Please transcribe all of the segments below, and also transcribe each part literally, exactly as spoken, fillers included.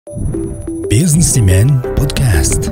Businessman podcast.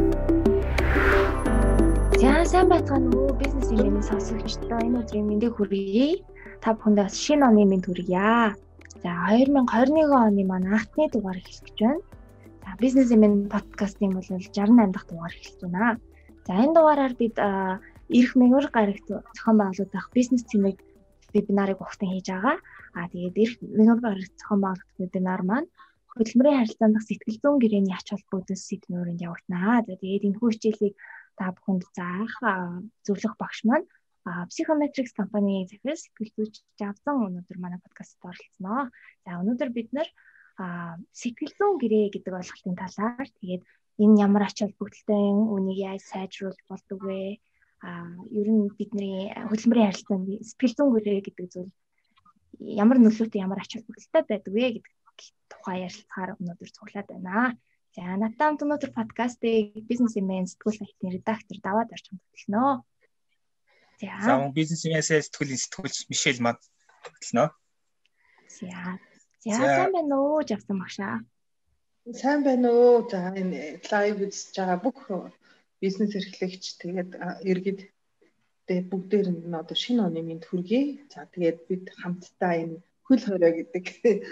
За сайн байцгаана уу Businessman-ийн сонсогчдоо энэ өдрийн мэндийг хүргэе. Та бүхэндээ шинэ оны мэнд хүргье. За две тысячи двадцать one оны маань анхны дугаар эхэлж байна. За Businessman podcast-ийн бол sixty-eight дахь дугаар эхэлж байна. За энэ дугаараар бид ирэх мэгүр гарагт зохион байгуулагдах бизнес цэмэг вебинарыг ухтан хийж байгаа. А тэгээд ирэх мэгүр гарагт зохион байгуулагдах вебинар маань хөдөлмөрийн харилцаанд дах сэтгэл зүйн гэрээний ач холбогдол сэдвүүрэнд явагдана. За тэгээд энэ хурцлыг та бүхэнд заах зөвлөх багш маань Psychometrics компани захирал сэтгэл зүйч Жавзан өнөөдөр манай подкастт оролцсноо. За өнөөдөр бид нэр сэтгэл зүйн гэрээ гэдэг ойлголтын талаар тэгээд энэ ямар ач холбогдолтой юм, үнийг яаж сайжруулах болдог вэ? А ер нь бидний хөдөлмөрийн харилцаанд сэтгэл зүйн гэрээ гэдэг зүйл ямар нөлөөтэй, ямар ач холбогдолтой байдаг вэ гэдэг тухай ярилцахаар өнөөдөр цуглаад байна. За надад хамт өнөөдөр подкастыг Businessman сэтгүүл сайтын редактор даваад орж хамтдагноо. За. За Businessman сэтгүүлийн сэтгүүлч Мишель манд хөтлөнө. За. За сайн байна уу Жавсан багшаа. Сайн байна уу. За энэ лайв үзэж байгаа бүх бизнес эрхлэгч тэгээд иргэд тэгээд бүгдээр нь одоо шинэ оны мэнд хүргэе. За тэгээд бид хамтдаа энэ хөл хорой гэдэг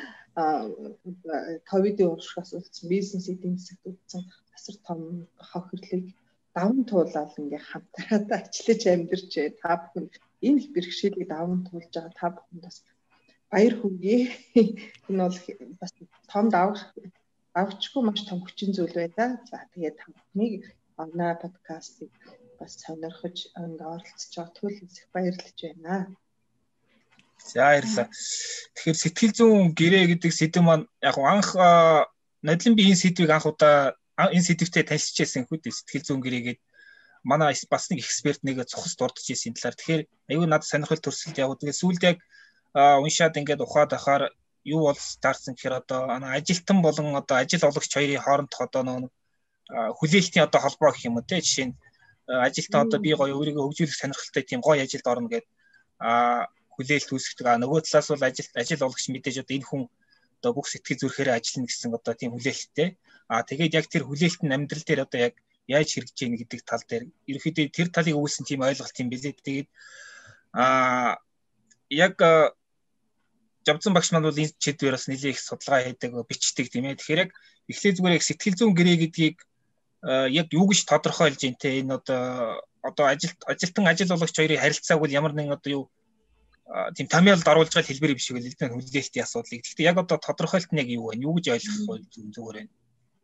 ковидын уршигаас үлдсэн бизнес эдийн засагт үлдсэн асар том хохирлыг даван туулаад ингээ хамтраад ажиллаж амьдарч та бүхэн энэ их бэрхшээлийг даван туулж байгаа та бүхэнд бас баяр хүргэе. Энэ бол бас том давах авчгүй маш том хүчин зүйл байлаа. За тэгээд та бүхнийг онлайн подкастыг бас сонирхож ингээ оролцож байгаа төлөвлөс их баярлаж байна. За баярлалаа. Тэгэхээр сэтгэл зүйн гэрээ гэдэг сэдв маань яг анх нодлон би энэ сэдвийг анх удаа энэ сэдвтэй танилцчихсан хүүд сэтгэл зүйн гэрээгээд манай бас нэг эксперт нэг цухас дурдж ирсэн талаар. Тэгэхээр аюу надад сонирхол төрсөлт яг тэгээд сүүлд яг уншаад ингээд ухаад ахаар юу бол старсан гэхээр одоо ажилтан болон одоо ажил олагч хоёрын хоорондох одоо нэг хүлээлтийн одоо холбоо гэх юм уу те жишээ нь ажилтан одоо би гоё өөрийгөө хөгжүүлэх сонирхолтой тийм гоё ажилд орно гэдэг а хүлээлт үүсгдэг. А нөгөө талаас бол ажил ажил олагч мэдээж одоо энэ хүн одоо бүх сэтгэл зүрхээр ажиллана гэсэн одоо тийм хүлээлттэй. А тэгээд яг тэр хүлээлт нь амьдрал дээр одоо яг яаж хэрэгжиж ийн гэдэг тал дээр ерөөхдөө тэр талыг өгүүлсэн тийм ойлголт юм билээ. Тэгээд а яг Жавзан багш маань бол энэ чиглэлээр бас нэлээд их судалгаа хийдэг, бичдэг тийм ээ. Тэгэхээр яг эхлээ зүгээр яг сэтгэл зүйн гэрээ гэдгийг яг юу гэж тодорхойлж ийн те энэ одоо одоо ажил ажилтан ажил олагч хоёрын харилцааг бол ямар нэгэн одоо юу тийм томьёолд оруулж байгаа хэлбэр биш үгүй л дээ хүлээлтийн асуудлыг. Гэхдээ яг одоо тодорхойлт нь яг юу вэ? Юу гэж ойлгох вэ зүгээр байна?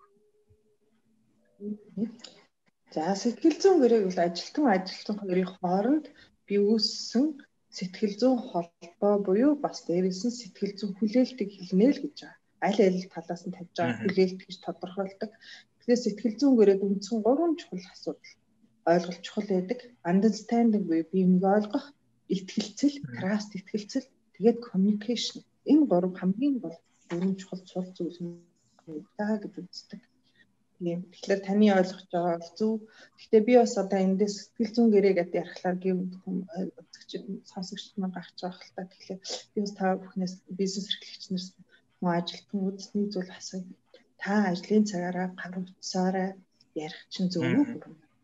За сэтгэл зүйн гэрээг бол ажилтан ажилтан хоёрын хооронд бий үүссэн сэтгэл зүйн холбоо буюу бас дээрээс нь сэтгэл зүйн хүлээлтийг хэлнэ л гэж байгаа. Аль аль талаас нь тавьж байгаа хүлээлт гэж тодорхойлдог. Тэгэхээр сэтгэл зүйн гэрээг үндсэн гурван чухал асуудал ойлголт чухал байдаг. Understanding буюу биеийг ойлгох, итгэлцэл, trust итгэлцэл, тэгээд communication. Энэ гурав хамгийн бол гурван чухал цул зүйл юм даа гэж үздэг. Тийм. Тэгэхээр таны ойлгож байгаа бол зөв. Гэхдээ би бас одоо эндээс сэтгэл зүйн гэрээ гэдэг ярихлаар гэвд үзэгчид сонсогчд маань гарч байгаа хэл та. Тэгэхээр би бас та бүхнээс бизнес эрхлэгчнээс мөн ажилтан үзсний зүйл асууя. Та ажлын цагаараа гар утсаараа ярих чинь зөв үү?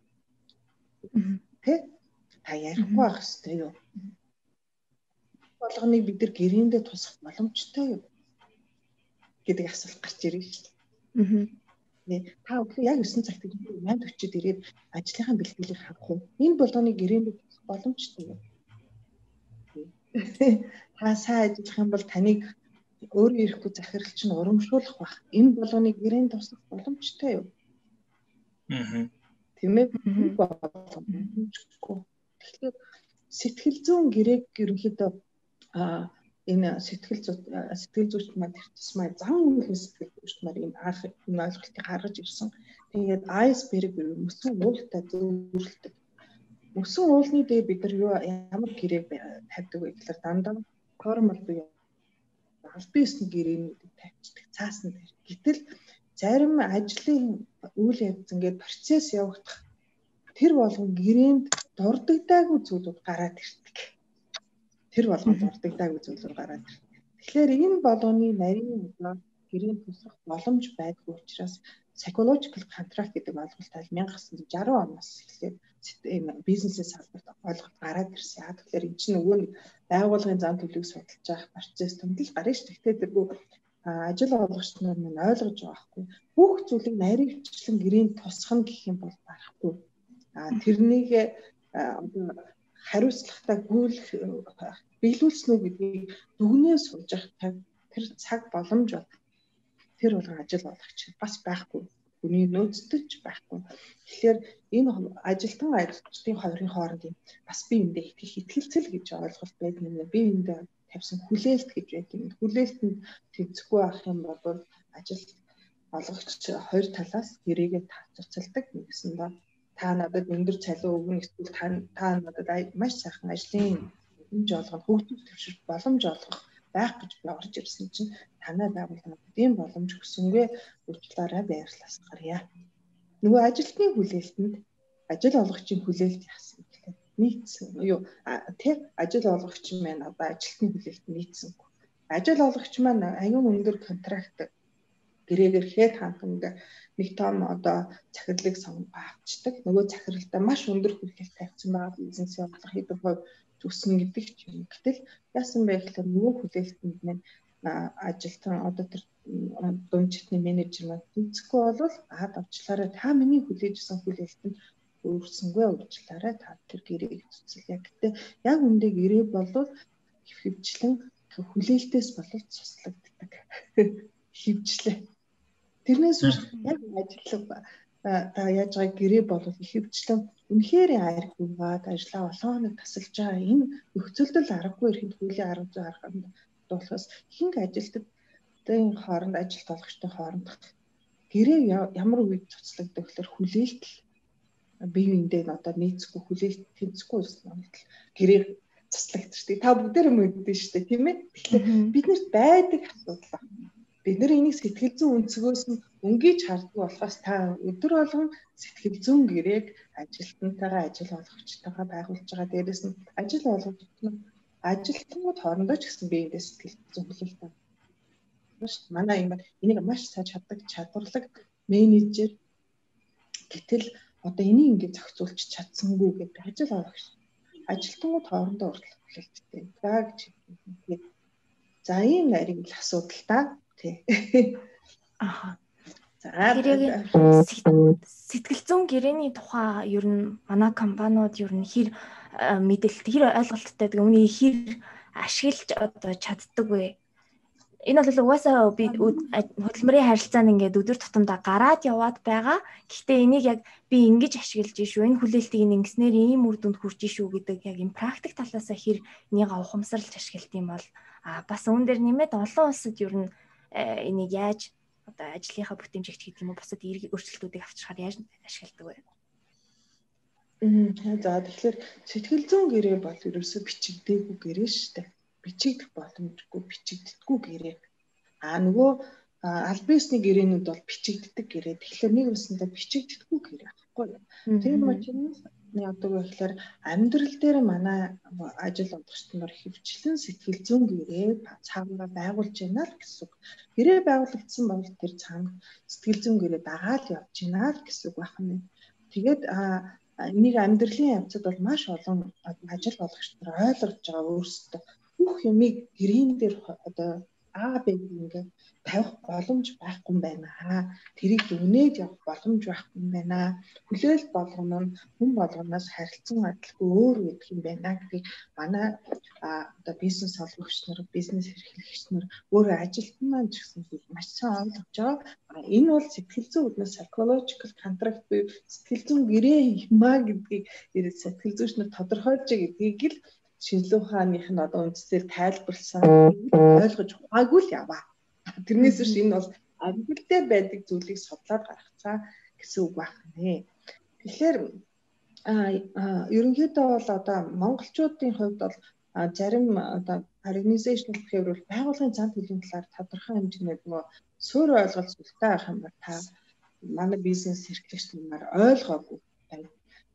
Тэ? Та ярихгүй байх ёстой юу? Болгоныг бид нар гэрээндээ тусах боломжтой юу гэдэг асуулт гарч ирнэ шүү дээ. Аа. Та өглөө яг нine цагт eight forty-д ирээд ажлынхаа бэлтгэлийг харах уу? Энэ болгоныг гэрээндээ тусах боломжтой юу? Та сайн ажиллах юм бол таныг өөрөө ирэхгүй захиралч нь урамшуулах байх. Энэ болгоныг гэрээнд тусах боломжтой юу? Аа. Тийм ээ. Боломжгүй. Тэгэхээр сэтгэл зүйн гэрээг ерөнхийдөө а энэ сэтгэл зүй сэтгэл зүйч маань тэр тусмаа зан үйл сэтгэл зүйч маань энэ анх энэ ойлголтыг гаргаж ирсэн. Тэгээд iceberg мөсөн уултай зөвөрлөдөг. Мөсөн уулны дээр бид нар юу ямар гэрээг тавьдаг вэ гэхээр дандаа формал буюу албан ёсны гэрээнүүдийг тавьчихдаг цаасан дээр. Гэтэл зарим ажлын үйл явц ингээд процесс явагдах тэр болгон гэрээнд дурддаггүй зүйлүүд гараад ирдэг. Тэр болгон дурддаггүй зүйлүүд гараад ирдэг. Тэгэхээр энэ болгоны нарийн гэрээнд тусах боломж байдгүй учраас psychological contract гэдэг ойлголт аль 천аа шаргуу оноос эхлээд энэ бизнесээс салбарт ойлголт гараад ирсэн. Яг тэгэхээр энэ чинь нөгөө нэг байгууллагын зан төлөвийг судалж байгаа процесс төмдөл гарна шүү. Гэхдээ тэргүй ажил олгогч нар минь ойлгож байгаа хгүй. Бүх зүйлийг нарийнчлан гэрээнд тусах нь гэх юм бол барахгүй. А тэрнийг одоо хариуцлагатай гүйлэх биелүүлсэн үү гэдгийг дүгнээ суулж явах тэр цаг боломж бол тэр болгон ажил олгогч бас байхгүй. Хүний нөөцтэй ч байхгүй. Тэгэхээр энэ ажилтан ажилчдын хоёрын хооронд бас бие биендээ итгэх итгэлцэл гэж ойлголт байдаг юм. Бие биендээ тавьсан хүлээлт гэж байдаг юм. Хүлээлтэнд тэнцэхгүй байх юм бол ажил олгогч хоёр талаас гэрээгээ тацалдаг гэсэн ба та надад өндөр цалин өгнө эсвэл та та надад маш сайхан ажлын боломж олгох, хөгжих төвшөлт боломж олгох байх гэж би орж ирсэн чинь танай байгууллагад ийм боломж өгсөнгүй уучлаарай баярлалаа. Нөгөө ажилтны хүлээлтэнд ажил олгогчийн хүлээлт яасан гэхлээр нийцсэн юу тэр ажил олгогч маань одоо ажилтны хүлээлтэнд нийцсэн. Ажил олгогч маань аюун өндөр контракт гэрээгээр хэд ханганд нэг том одоо захирлыг сонгох авчдаг. Нөгөө захиралдаа маш өндөр хүлээлт тавьсан байгаа бизнес явуулах хэдэн хувь төссөн гэдэг ч юм. Гэтэл яасан бэ гэхээр нөгөө хүлээлтэнд маань ажилтан одоо тэр дундчны менежер маань тэнцэхгүй бол аад авчлаарай та миний хүлээжсэн хүлээлтэнд өөрсөнгөө уучлаарай та тэр гэрээг цуцлаа. Гэтэ яг үндэ гэрээ болвол хөвчлэн хүлээлтээс боловч цуслагддаг. Хөвчлээ. Тэрнээс үүш яг ажиллах та яаж байгаа гэрээ болвол хөвчлэн үнэхээр айргүйгаад ажлаа олон хоног тасалж байгаа энэ нөхцөлдөл аргагүй ирэхэд хуулийн арга зүй арганд болохоос ихэнх ажилтнуудын хооронд ажилт олгогчтой хооронд гэрээ ямар үед цуцлагддаг гэхээр хүлээлт бие биендээ одоо нийцэхгүй хүлээлт тэнцэхгүй байсан юм. Гэрээ цуцлагдчихдаг. Та бүгдээр мэддэн шүү дээ, тийм ээ? Тэгэхээр биднэрт байдаг асуудал байна. Бид нар энийг сэтгэл зүйн өнцгөөс нь өнгөж харддаг болохоос та өдөр болгон сэтгэл зүйн гэрээг ажилтнтайгаа ажил олгогчтойгоо байгуулж байгаа. Дээрээс нь ажил олгогч нь ажилтнууд хоорондоо ч гэсэн биеиндээ сэтгэл зүйн хүлээлт авах. Манай юм энийг маш сайн чаддаг чадварлаг менежер гэтэл одоо энийг ингээд зохицуулж чадсангүй гэдэг ажил олгогч ажилтнууд хоорондоо урдлах хүлээлттэй даа гэж хэлдэг. За ийм нарийн л асуудал та. Тий. Аха. За сэтгэл зүйн гэрээний тухай ер нь манай компаниуд ер нь хэр мэдээлэл хэр ойлголттой гэдэг үүнийг хэр ашиглаж одоо чаддаг вэ? Энэ бол угаасаа би хөдөлмөрийн харилцаанд ингээд өдөр тутамдаа гараад яваад байгаа. Гэхдээ энийг яг би ингэж ашиглаж шүү. Энэ хүлээлтийг ингэснээр ийм үр дүнд хүрч шүү гэдэг яг энэ практик талаас хэр энийг ухамсарлаж ашиглах юм бол а бас үүн дээр нэмээд олон улсад ер нь энийг яаж одоо ажлынхаа бүтэмжигт гэдэг юм уу бусад эрг өөрчлөлтүүдийг авчрахаар яаж ашигладаг вэ? Мм за тэгэхээр сэтгэл зүйн гэрээ бол ерөөсөө бичигдээгүй гэрээ шүү дээ. Бичигдэх боломжгүй бичигддэггүй гэрээ. А нөгөө аль биесний гэрээнүүд бол бичигддэг гэрээ. Тэгэхээр нэг үсэндээ бичигддэггүй гэрээ байхгүй юу? Тэр учраас яадаг вэ гэхээр амьдрал дээр манай ажил олгогчид нар хөвчлэн сэтгэл зүйн гэрээ цаанаа байгуулж байна л гэсэн үг. Гэрээ байгуулагдсан бол тэр цаана сэтгэл зүйн гэрээ дагаад явж байна л гэсэн үг байна. Тэгээд энийг амьдралын явцад бол маш олон ажил олгогчид нар ойлгож байгаа өөрсдөө бүх юмыг гэрийн дээр одоо А Б ингээд тавих боломж байхгүй юм байна. Тэрийг дүгнээд явах боломж байхгүй юм байна. Хүлээлт болгоно нь хүн болгоноос харилцан адилгүй өөр байдаг юм байна гэдгийг манай одоо бизнес олгогч нар, бизнес эрхлэгч нар өөрөө ажилтан маань ч гэсэн маш сайн ойлгож байгаа. Энэ бол сэтгэл зүйн үүднээс psychological contract буюу сэтгэл зүйн гэрээ юмаа гэдгийг сэтгэл зүйч нар тодорхойлж байгаа гэдгийг л шинжилгээ ухааных нь одоо үндсээр тайлбарласан ойлгож ухаагүй л яваа. Тэрнээс биш энэ бол амьдрал дээр байдаг зүйлийг судлаад гаргацсан гэсэн үг байна. Тэгэхээр ерөнхийдөө бол одоо монголчуудын хувьд бол зарим одоо organizational behavior байгууллагын зан төлөвийн талаар тодорхой хэмжээний нөгөө суурь ойлголт сүлтэй байх юм бол та манай бизнес эрхлэгч нар ойлгоогүй байна.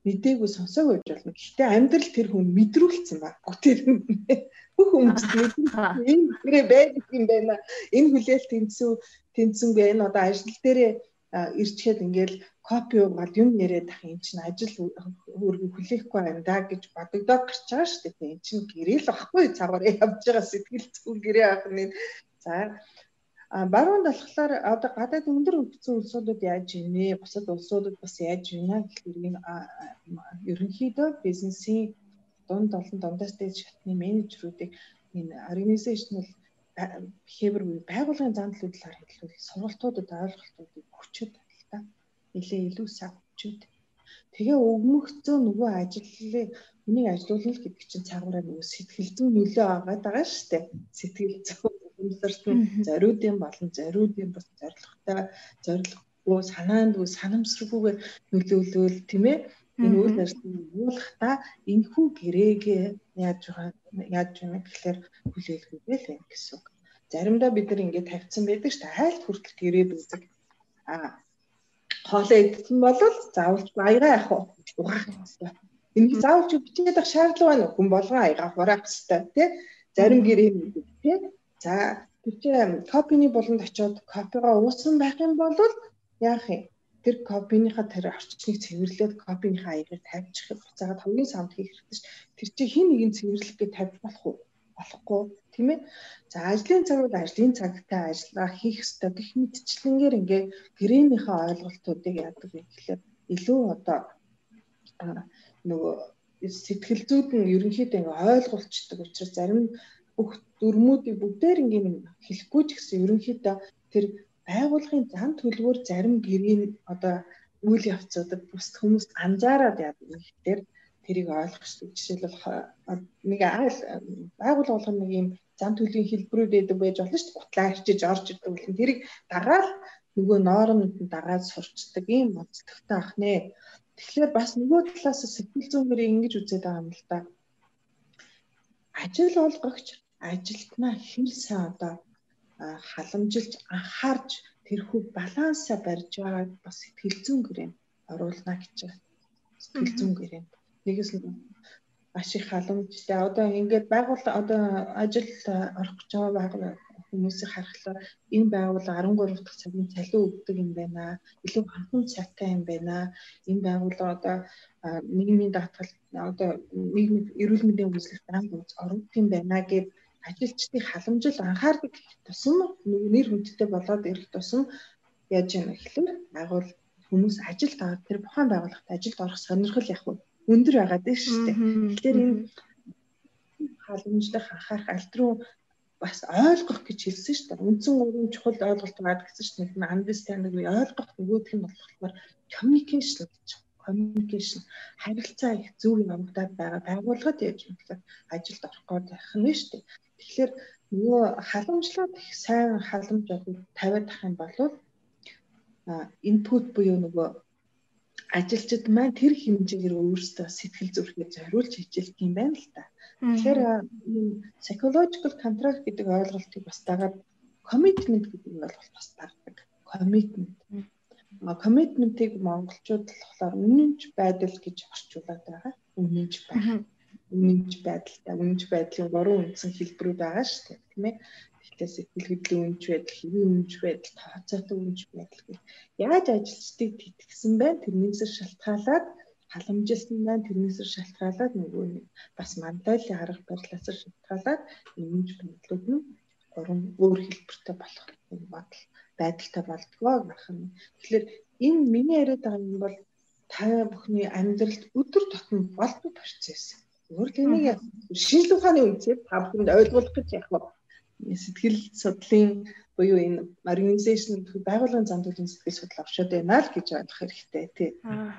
мэдээгүй сонсоогүй байж болно. Гэхдээ амьдрал тэр хүн мэдрүүлсэн ба. Бүгдээр бүх хүмүүс мэдээ энэ гэрээ байдаг юм байна. Энэ хүлээлт тэнцүү тэнцэнгүй энэ одоо ажил дээрээ ирчгээд ингээл копи угаад юм яриад ах юм чинь ажил өөргөө хүлээхгүй байна да гэж бодогдоод гарч байгаа шүү дээ. Энэ чинь гэрээ л ахгүй цагаар явж байгаа сэтгэл зүйн гэрээ ахны. За а баруун талхлаар одоо гадаад өндөр хөгжсөн улсуудад яаж ийнэ? Бусад улсуудад бас яаж ийнэ гэхээр энэ ерөнхийдөө бизнесийн дунд олон дундаас дээд шатны менежерүүдийг энэ organizational behavior буюу байгууллагын зан төлөвлөлөөр хэлбэл сургалтуудад ойлголтуудыг хүчтэй та нэлээ илүү сайн хүчтэй. Тэгээ өгмөгцөө нөгөө ажлыг үнийг ажилуулна гэдэг чинь цагаараа нөгөө сэтгэл зүйн нөлөө агаад байгаа шүү дээ. Сэтгэл зүйн өмсөртөн зориудын болон зориудын бас зорилготой зорилгогүй санаандгүй санамсаргүйгээр нөлөөлөл тийм ээ энэ үйл ажиллагааг явуулахдаа энэхүү гэрээгээ яаж байгаа яаж байна гэхээр хүлээлгүүгээ л байна гэсэн үг. Заримдаа бид нар ингээд тавьсан байдаг шүү дээ. Хайлт хүртэл гэрээд үзэг. Аа хоолоо идсэн бол заавалж аягаа яах вэ? Угаах хэрэгтэй. Энийг заавалж бичээд авах шаардлага байна уу? Хүн болгон аягаа хураах хэрэгтэй тий. Зарим гэрээ мэдээ тий. За тэр чинь копины болонд очиод копигаа уусан байх юм бол яах юм? Тэр копиныхаа тэр орчныг цэвэрлээд копиныхаа аягаар тавьчих буцаагаад хамгийн самд хийх хэрэгтэй ш. Тэр чинь хин нэгэн цэвэрлэгээ тавьж болох уу? Болохгүй тийм ээ. За ажлын цаг бол ажлын цагтай ажиллаа хийх ёстой гэх мэтчлэнгээр ингээ гэрээнийхээ ойлголтуудыг яадаг вэ гэхээр илүү одоо нөгөө сэтгэл зүйд нь ерөнхийдөө ингээ ойлгуулцдаг учраас зарим бүх дүрмүүдийг бүгдээр ингээ хэлэхгүй ч гэсэн ерөнхийдөө тэр байгууллагын зан төлөвөөр зарим гэрийн одоо үйл явцуудад бус хүмүүс анзаараад яадаг юм гэхээр тэрийг ойлгох хэрэгтэй. Жишээлбэл нэг байгууллага болгоно нэг юм зан төлөвийн хэлбэрүүд байдаг байж болно шүү дээ. Гутлаа арчиж орж ирдэг үл тэрийг дагаад нөгөө ноормд нь дагаад сурчдаг юм онцлогтой ах нэ. Тэгэхээр бас нөгөө талаас сэтгэл зүйнээр ингэж үзээд байгаа юм л да. Ажил олгогч ажилтнаа хэр сайн одоо халамжилж анхаарч тэрхүү балансаа барьж байгааг бас сэтгэл зүйн гэрээнд оруулна гэж байна. Сэтгэл зүйн гэрээнд нэгээс нь маш их халамжтай одоо ингээд байгууллага одоо ажилд орох гэж байгаа байгууллага хүмүүсийг харахлаа энэ байгууллага арван гурав дахь цагийн цалин өгдөг юм байна. Илүү ханхан цагтай юм байна. Энэ байгууллага одоо нийгмийн даатгал одоо нийгмийн эрүүл мэндийн үйлчлэгт анх ордог юм байна гэв ажилчдыг халамжил анхаардаг тусам нэр хүндтэй болоод ирэх тусам яаж яана гэхлээр байгуул хүмүүс ажилд аваад тэр бухайн байгууллагт ажилд орох сонирхол яг өндөр байгаад байна шүү дээ. Тэгэхээр энэ халамжлах анхаарах аль руу бас ойлгох гэж хэлсэн шүү дээ. Үндсэн гурван чухал ойлголт байгаа гэсэн чинь нэг нь understanding буюу ойлгох нөгөөх нь болохоор communication гэж. Communication харилцаа их зөв явагдаад байгаа байгууллагад яаж юм гэхээр ажилд орох гээд байх нь шүү дээ. Тэгэхээр нөгөө халамжлаад их сайн халамж тавиад ах юм бол input буюу нөгөө ажилчид маань тэр хэмжээгээр өөрсдөө сэтгэл зүрхээ зориулж хичээлдэг юм байна л та. Тэгэхээр psychological contract гэдэг ойлголтыг бас дагаад commitment гэдэг ойлголт бас дагдаг. Commitment. Commitment-ийг монголчууд болохоор үнэнч байдал гэж орчуулад байгаа. Үнэнч байх. Үнэнч байдалтай. Үнэнч байдлын гурван үндсэн хэлбэрүүд байгаа шүү дээ, тийм ээ. Тэгэхээр сэтгэл хөдлөлийн үнэнч байдал, хэвийн үнэнч байдал, тооцоотой үнэнч байдал гэх. Яаж ажилчдыг тэтгэсэн байна? Тэрнээс шалтгаалаад халамжилсан байна. Тэрнээс шалтгаалаад нөгөө нэг бас мандайлын арга барилаас шалтгаалаад үнэнч байдлууд нь гурван өөр хэлбэртэй болох бодол байдалтай болдгоо гэх юм. Тэгэхээр энэ миний яриад байгаа юм бол та бүхний амьдралд өдөр тутмын болдог процесс. Өөр тэнийг шинжлэх ухааны үндэслэл та бүхэнд ойлгуулах гэж яг сэтгэл судлалын буюу энэ organization байгууллагын зан төлөвийн сэтгэл судлал авшаад байна л гэж ойлгох хэрэгтэй тий.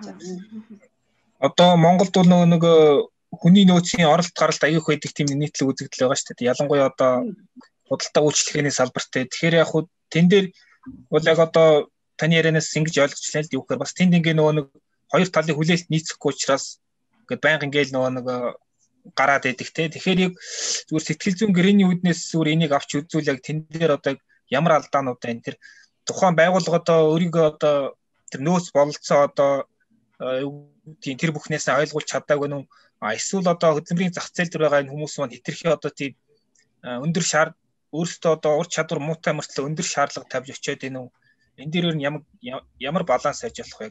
Одоо Монголд бол нөгөө нэг хүний нөөцийн оролт гаралт аяах байдаг тийм нийтлэг үзэгдэл байгаа шүү дээ. Ялангуяа одоо худалдаа үйлчлэгээний салбарт. Тэгэхээр яг хуу тэн дээр бол яг одоо таны ярианаас ингэж ойлгочлаа л дээ. Үхээр бас тэнд ингээ нөгөө нэг хоёр талын хүлээлт нийцэхгүй учраас ингээд байнга ингээл нөгөө нэг гараад идэх те. Тэгэхээр яг зүгээр сэтгэл зүйн гэрээний үүднээс зүгээр энийг авч үзүүл яг тэн дээр одоо ямар алдаанууд байна. Тэр тухайн байгууллага одоо өөрийгөө одоо тэр нөөц бололцоо одоо тийм тэр бүхнээс ойлгуулж чадаагүй нү эсвэл одоо хөдөлмөрийн зах зээл дээр байгаа энэ хүмүүс маань хэтэрхий одоо тийм өндөр шаар өөрсдөө одоо ур чадвар муутай мөртлөө өндөр шаардлага тавьж очиод энэ энэ дээрээр нь ямар ямар баланс хийж болох вэ?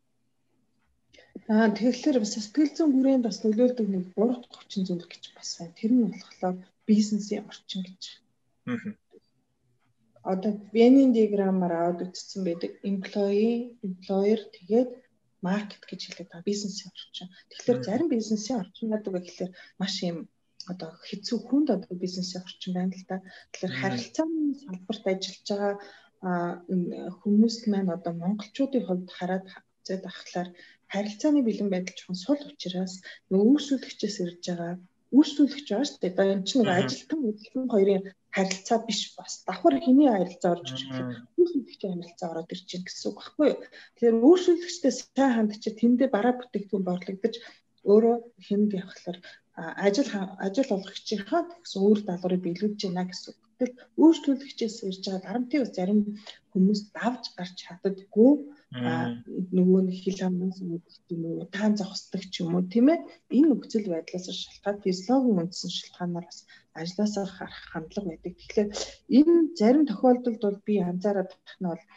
Аа тэгэхээр бас сэтгэл зүйн хүрээнд бас нөлөөлдөг нэг гурав дахь хүчин зүйл гэж бас байна. Тэр нь болохоор бизнесийн орчин гэж. Аа. Одоо Venn diagram-аар аваад үзсэн байдаг. Employee, employer тэгээд market гэж хэлээд байгаа бизнесийн орчин. Тэгэхээр зарим бизнесийн орчин гэдэг нь гэхээр маш юм одоо хэцүү хүнд одоо бизнесийн орчин байна л да. Тэгэхээр харилцааны салбарт ажиллаж байгаа хүмүүс маань одоо монголчуудын хувьд хараад үзээд ахлаар харилцааны бэлэн байдал жоохон сул учраас нөгөө үүсвэлэгчээс ирж байгаа үүсвэлэгч байгаа шүү дээ. Одоо энэ чинь нэг ажилтан хөдөлгөөн хоёрын харилцаа биш бас давхар хэний харилцаа орж ирж байгаа. Үүсвэлэгчийн харилцаа ороод ирж байна гэсэн үг байхгүй юу? Тэгэхээр үүсвэлэгчтэй сайн хандчих тэндээ бараа бүтээгдэхүүн борлогдож өөрөө хэнд явахлаар ажил ажил олгогчийнхаа гэсэн үр даалгаврыг биелүүлж байна гэсэн үг. Тэгэл үйлчлүүлэгчээс ирж байгаа дарамтын бас зарим хүмүүс давж гарч чаддаггүй нөгөө нэг хил хамнаас үүдэх юм уу таан зогсдог ч юм уу тийм ээ энэ нөхцөл байдлаас шалтгаалж физиологийн үндсэн шалтгаанаар бас ажлаасаа гарах хандлага байдаг. Тэгэхээр энэ зарим тохиолдолд бол би анзаараад байх нь бол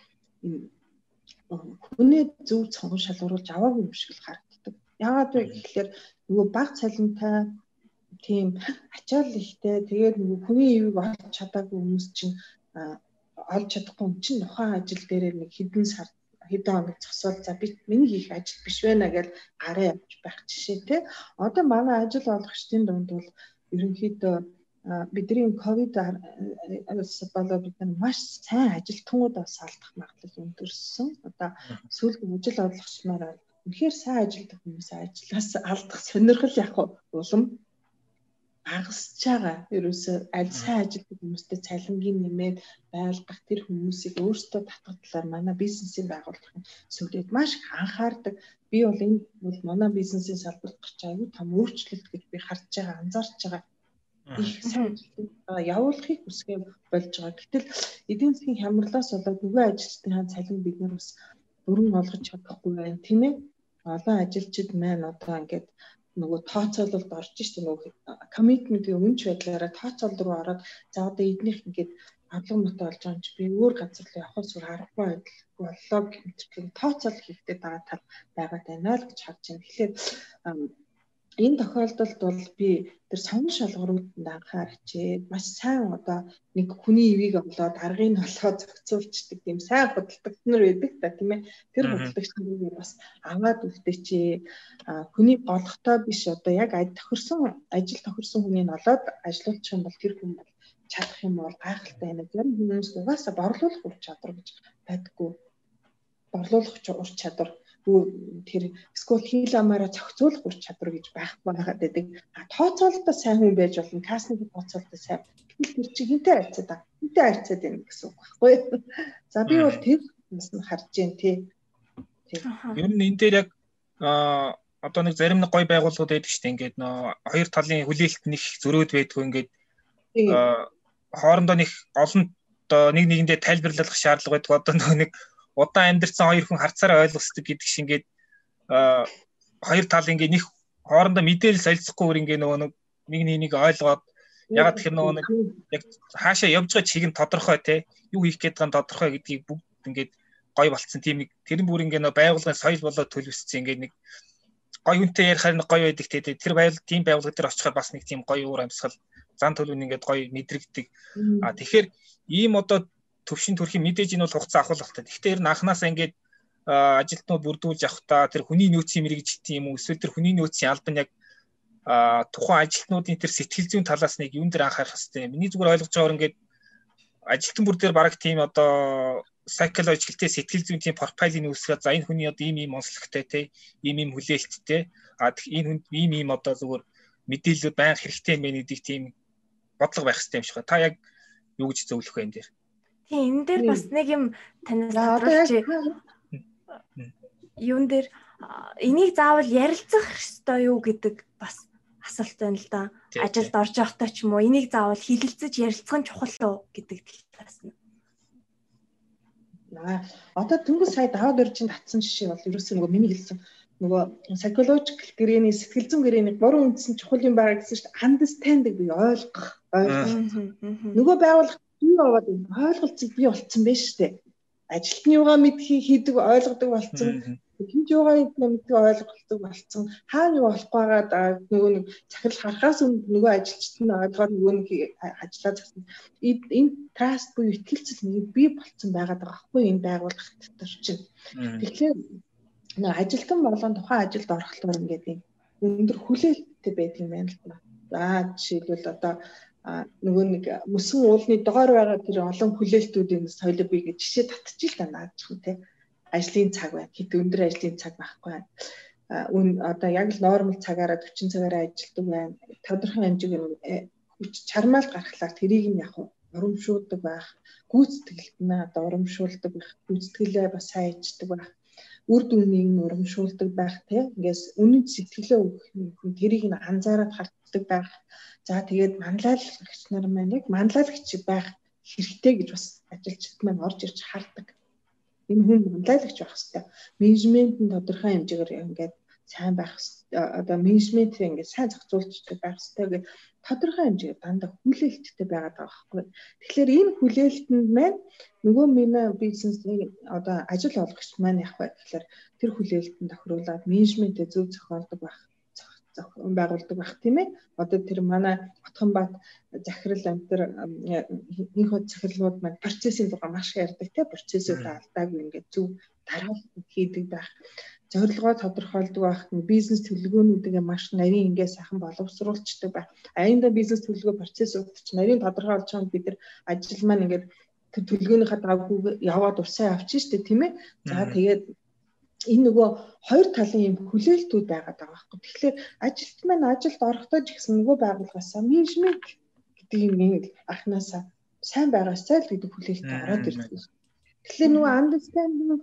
хүний зөв цонх шалгаруулж аваагүй юм шиг л харагддаг. Яагаад вэ гэхээр нөгөө баг цалинтай тийм ачаал ихтэй тэгээд нөгөө хүний ивийг олж чадаагүй хүмүүс чинь олж чадахгүй юм чинь ухаан ажил дээр нэг хэдэн сар хэдэн хоног зогсоол за би миний хийх ажил биш байна гэж гараа явж байх жишээ те. Одоо манай ажил олгогчдын дунд бол ерөнхийдөө бидний ковид-аас болоод бид нар маш сайн ажилтнуудаас алдах магадлал өндөрсөн. Одоо сүүлийн ажил олгогчмаар үнэхээр сайн ажилтдаг хүмүүс ажлаас алдах сонирхол яг улам багасж байгаа. Ерөөсөө аль сайн ажилтдаг хүмүүстэй цалингийн нэмээд байлгах тэр хүмүүсийг өөрсдөө татгалзлаар манай бизнесийн байгууллагын сүлээд маш их анхаардаг. Би бол энэ бол манай бизнесийн салбарт гарч аягүй том өөрчлөлт гэж би харж байгаа, анзаарч байгаа. Их сайн явуулахыг хүсгээ болж байгаа. Гэтэл эдийн засгийн хямралаас болоод нөгөө ажилчдын цалин бид нар бас бүрэн олгож чадахгүй байна, тийм ээ. Олон ажилчид маань одоо ингээд нөгөө тооцоололд орж штэ нөгөө commitment-ийн өмнөч байдлаараа тооцоолол руу ороод за одоо эднийх ингээд орлого мөтө олж байгаа юм чи би өөр газар руу явах зүгээр аргагүй боллоо гэх тооцоол хийхдээ байгаа тал байгаад байна л гэж харж байна. Тэгэхээр энэ тохиолдолд бол би тэр сонин шалгууруудад анхаарчээ. Маш сайн одоо нэг хүний ивийг олоод аргыг олоод зохицуулчдаг тийм сайн худалдагч нар байдаг та тийм ээ. Тэр худалдагч нарыг бас аваад үлдээчээ. Хүний голохтой биш одоо яг тохирсон ажил тохирсон хүнийг олоод ажиллуулчих юм бол тэр хүн бол чадах юм бол гайхалтай байна. Зарим хүмүүс угаасаа борлуулах ур чадвар гэж байдаггүй. Борлуулах ур чадвар тэр эсвэл хил амаараа зохицуулах ур чадвар гэж байхгүй байгаад байдаг. А тооцоололтой сайн хүн байж болно. Кассны тооцоололтой сайн. Тэр чи хинтэй харьцаад байгаа. Хинтэй харьцаад байна гэсэн үг байхгүй юу? За би бол тэр юмс нь харж байна тий. Ер нь энэ дээр яг а одоо нэг зарим нэг гой байгууллагууд байдаг шүү дээ. Ингээд нөө хоёр талын хүлээлт нэг зөрөөд байдгүй ингээд хоорондоо нэг олон одоо нэг нэгэндээ тайлбарлах шаардлага байдаг. Одоо нөө нэг удаан амьдэрсэн хоёр хүн харцаараа ойлгосдог гэдэг шиг ингээд хоёр тал ингээд нэг хоорондоо мэдээлэл солилцохгүйгээр ингээд нөгөө нэг нэг ойлгоод ягаад тэр нөгөө нэг яг хаашаа явж байгаа чиг нь тодорхой те юу хийх гээд байгаа нь тодорхой гэдгийг бүгд ингээд гой болцсон тийм нэг тэрэн бүр ингээд нөгөө байгууллагын соёл болоод төлөвссөн ингээд нэг гой үнтэй ярихаар нэг гой байдаг те тэр байгууллага тийм байгууллага дээр очихоор бас нэг тийм гой уур амьсгал зан төлөв ингээд гой мэдрэгдэг. А тэгэхээр ийм одоо төвшин төрхийн мэдээж энэ бол хугацаа авах хэрэгтэй. Гэхдээ ер нь анханасаа ингээд ажилтнууд бүрдүүлж авахдаа тэр хүний нөөцийн мэрэгжилтийн юм уу эсвэл тэр хүний нөөцийн албан яг тухайн ажилтнуудын тэр сэтгэл зүйн талаас нэг юун дээр анхаарах хэрэгтэй. Миний зүгээр ойлгож байгаагаар ингээд ажилтан бүр дээр бараг тийм одоо psychological-тэй сэтгэл зүйн тийм профайлыг үүсгээд за энэ хүний одоо ийм ийм онцлогтой те ийм ийм хүлээлттэй а энэ хүнд ийм ийм одоо зүгээр мэдээлэлүүд байнга хэрэгтэй юм байна гэдэг тийм бодлого байх хэрэгтэй юм шиг байна. Та яг юу гэж зөвлөх вэ энэ дээр? Тийм энэ дээр бас нэг юм танаас тодруулж юун дээр энийг заавал ярилцах ёстой юу гэдэг бас асуулт байна л да. Ажилд орж явахдаа ч юм уу энийг заавал хилэлцэж ярилцах нь чухал уу гэдэг талаас нь. Аа одоо дөнгөж сая даваад өржинд татсан жишээ бол ерөөсөө нөгөө миний хэлсэн нөгөө psychological гэрээний сэтгэл зүйн гэрээний гурван үндсэн чухал юм байгаа гэсэн чинь understanding би ойлгох ойлгох. Нөгөө байгууллага бий болоод ойлголцыг бий болцсон байж тээ. Ажилтны юугаа мэдхийг хийдэг ойлгодог болцсон. Хинж юугаа мэдхийг ойлгодог болцсон. Хаана юу болохгүй байгаа нөгөө нэг захирал харахаас өмнө нөгөө ажилчид нь ойлгоод нөгөө нэг ажиллаа засан. Энэ trust буюу итгэлцэл нэг бий болцсон байгаа даа байхгүй энэ байгууллага дотор чинь. Тэгэхээр нэг ажилтан болон тухайн ажилд орохлоор ингээд өндөр хүлээлттэй байдаг юм байна л да. За жишээлбэл одоо нөгөө нэг мөсөн уулны доор байгаа тэр олон хүлээлтүүдийн соёлыг би гэж жишээ татчих л да наадчих юм те. Ажлын цаг байна. Хэд өндөр ажлын цаг байхгүй. Үн одоо яг л нормал цагаараа forty цагаараа ажилладаг байна. Тодорхой хэмжээгээр хүч чармаал гаргалаар тэрийг нь яг урамшуулдаг байх. Гүйцэтгэлд нь одоо урамшуулдаг байх. Гүйцэтгэлээ бас сайн ичдэг байх. Үр дүнийг нь урамшуулдаг байх те. Ингээс үнэн сэтгэлээ өгөх юм тэрийг нь анзаараад харддаг байх. За тэгээд манлайлагч нар маань яг манлайлагч байх хэрэгтэй гэж бас ажилчид маань орж ирж хардаг. Энэ хүн манлайлагч байх хэрэгтэй. Менежмент нь тодорхой хэмжээгээр ингээд сайн байх одоо менежментээ ингээд сайн зохицуулж байх хэрэгтэй гэх тодорхой хэмжээгээр дандаа хүлээлттэй байгаад байгаа байхгүй. Тэгэхээр энэ хүлээлтэнд маань нөгөө миний бизнесний одоо ажил олгогч маань яг бай тэгэхээр тэр хүлээлтэнд тохируулаад менежментээ зөв зохиолдог байх байгуулдаг байх тийм ээ. Одоо тэр манай Отгонбаат захирал амтэр энэ хот захирлууд маань процессын тухай маш их ярьдаг тийм процессыг алдаагүй ингээд зөв дараалал хийдэг байх. Зорилгоо тодорхойлдог байх. Бизнес төлөвлөгөөнүүдийг маш нарийн ингээд сайхан боловсруулцдаг байх. Аяанда бизнес төлөвлөгөө процесс удирч нарийн тодорхойлж байгаа бид нар ажил маань ингээд тэр төлөвлөгөөнийхөө дагуу яваад усаа авчих штэ тийм ээ. За тэгээд энэ нөгөө хоёр талын юм хүлээлтүүд байгаад байгаа байхгүй. Тэгэхээр ажилт маань ажилд орохдоо ч гэсэн нөгөө байгууллагаасаа менежмент гэдэг юм анханасаа сайн байгаасаа л гэдэг хүлээлт ороод ирдэг. Тэгэхээр нөгөө understanding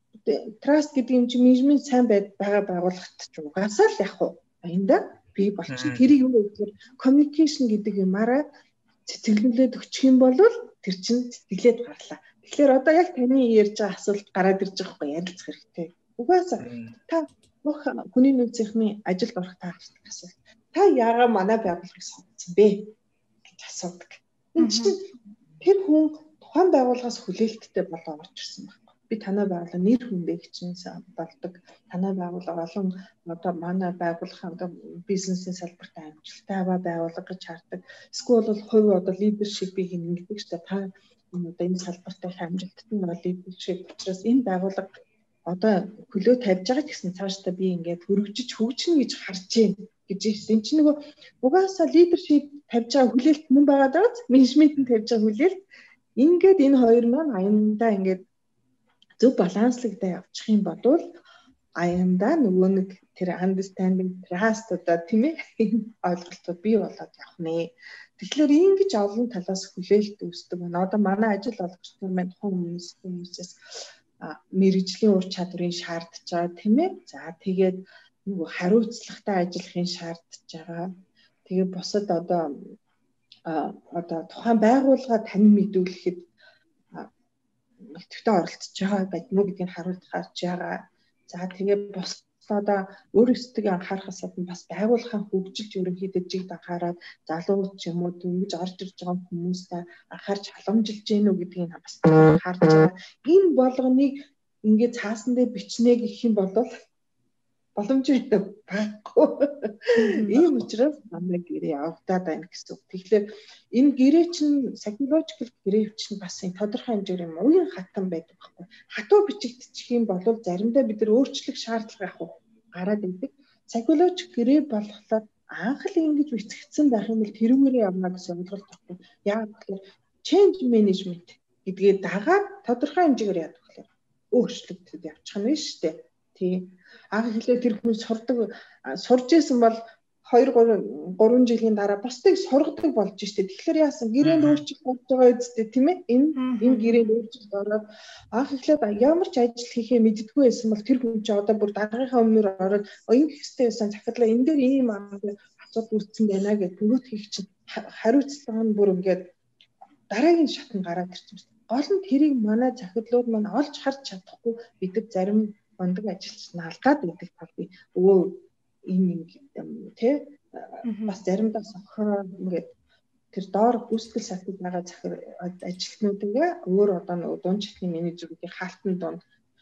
trust гэдэг юм чи менежмент сайн байгаа байгууллагт ч угаасаа л яг уу аянда бий болчих. Тэрийг юу гэхээр communication гэдэг юмараа цэцэглүүлээд өгчих юм бол тэр чинь цэцэглээд гарлаа. Тэгэхээр одоо яг таны ярьж байгаа асуулт гараад ирж байгаа хгүй ярилцах хэрэгтэй. Угаасаа та бүх хүний нөөцийнхний ажилд орох та асуулт. Та яагаад манай байгууллагыг сонгосон бэ гэж асуудаг. Энэ чинь тэр хүн тухайн байгууллагаас хүлээлттэй болоо орж ирсэн байна. Би танай байгууллага нэр хүндээ чинь болдог. Танай байгууллага олон одоо манай байгууллага одоо бизнесийн салбарт амжилттай аваа байгууллага гэж хардаг. Эсвэл бол хувь одоо лидершипийг ингэдэг ч та одоо энэ салбарт амжилттай нэг лидершип учраас энэ байгууллага одоо хөлөө тавьж байгаа гэсэн цаашдаа би ингээд хөргөжиж хөгжинэ гэж харж байна гэж хэлсэн. Энд чинь нөгөө угаасаа лидершип тавьж байгаа хүлээлт мөн байгаа даа. Менежмент нь тавьж байгаа хүлээлт. Ингээд энэ хоёр маань аяндаа ингээд зөв баланслагдаа явчих юм бол аяндаа нөгөө нэг тэр understanding trust одоо тийм ээ ойлголтууд бий болоод явах нэ. Тэгэхээр ингэж олон талаас хүлээлт үүсдэг байна. Одоо манай ажил олгогч нар маань тухайн хүмүүс хүмүүсээс мэрэгжлийн ур чадварыг шаардж байгаа тийм ээ. За тэгээд нөгөө хариуцлагатай ажиллахын шаардж байгаа. Тэгээд бусад одоо одоо тухайн байгууллага тань мэдүүлэхэд идэвхтэй оролцож байгаа байдмуу гэдгийг харуулж гарч байгаа. За тэгээд бусад одоо өөрөөсөө анхаарахаас гадна бас байгууллагын хөгжилд ерөнхийдөө жигд анхаарал залуу ч юм уу ингэж орж ирж байгаа хүмүүстэй анхаарч халамжилж гэнэ үү гэдгийг бас харж байгаа. Энэ болгоныг ингээд цаасан дээр бичнэ гэх юм бол боломжтой байхгүй. Ийм учраас манай гэрээ явагдаад байна гэсэн үг. Тэгэхээр энэ гэрээ чинь psychological гэрээ чинь бас энэ тодорхой хэмжээгээр юм уян хатан байдаг байхгүй. Хатуу бичигдчих юм бол заримдаа бид нар өөрчлөх шаардлага авах гараад ирдэг. Psychological гэрээ болохлаад анх л ингэж бичигдсэн байх юм бол тэрүүгээрээ явна гэсэн ойлголт байхгүй. Яг тэгэхээр change management гэдгээ дагаад тодорхой хэмжээгээр яадаг болохоор өөрчлөгдөд явчих нь шүү дээ. Тийм. Анх хэлээ тэр хүн сурдаг сурж исэн бол two three жилийн дараа бусдыг сургадаг болж штэ. Тэгэхээр яасан гэрээнд өөрчлөлт болж байгаа үстэй тийм ээ. Энэ энэ гэрээнд өөрчлөлт ороод анх эхлээд ямар ч ажил хийхээ мэддэггүй байсан бол тэр хүн чи одоо бүр дараагийнхаа өмнөр ороод ингэ хэвчтэй байсан захирлаа энэ дээр ийм асуудал үүссэн байна гэж нөгөөт хийх чинь хариуцлага нь бүр ингээд дараагийн шатнд гараад ирчихсэн. Гол нь тэрийг манай захирлууд маань олж харж чадахгүй бид зарим ондог ажилч наалдаад байдаг тал би өө ийм юм тий бас заримдаа сохроо ингээд тэр доор гүйцэтгэл салтад байгаа захир ажилтнуудаа өөр одоо нэг дунд чатны менежерүүдийн хаалтны донд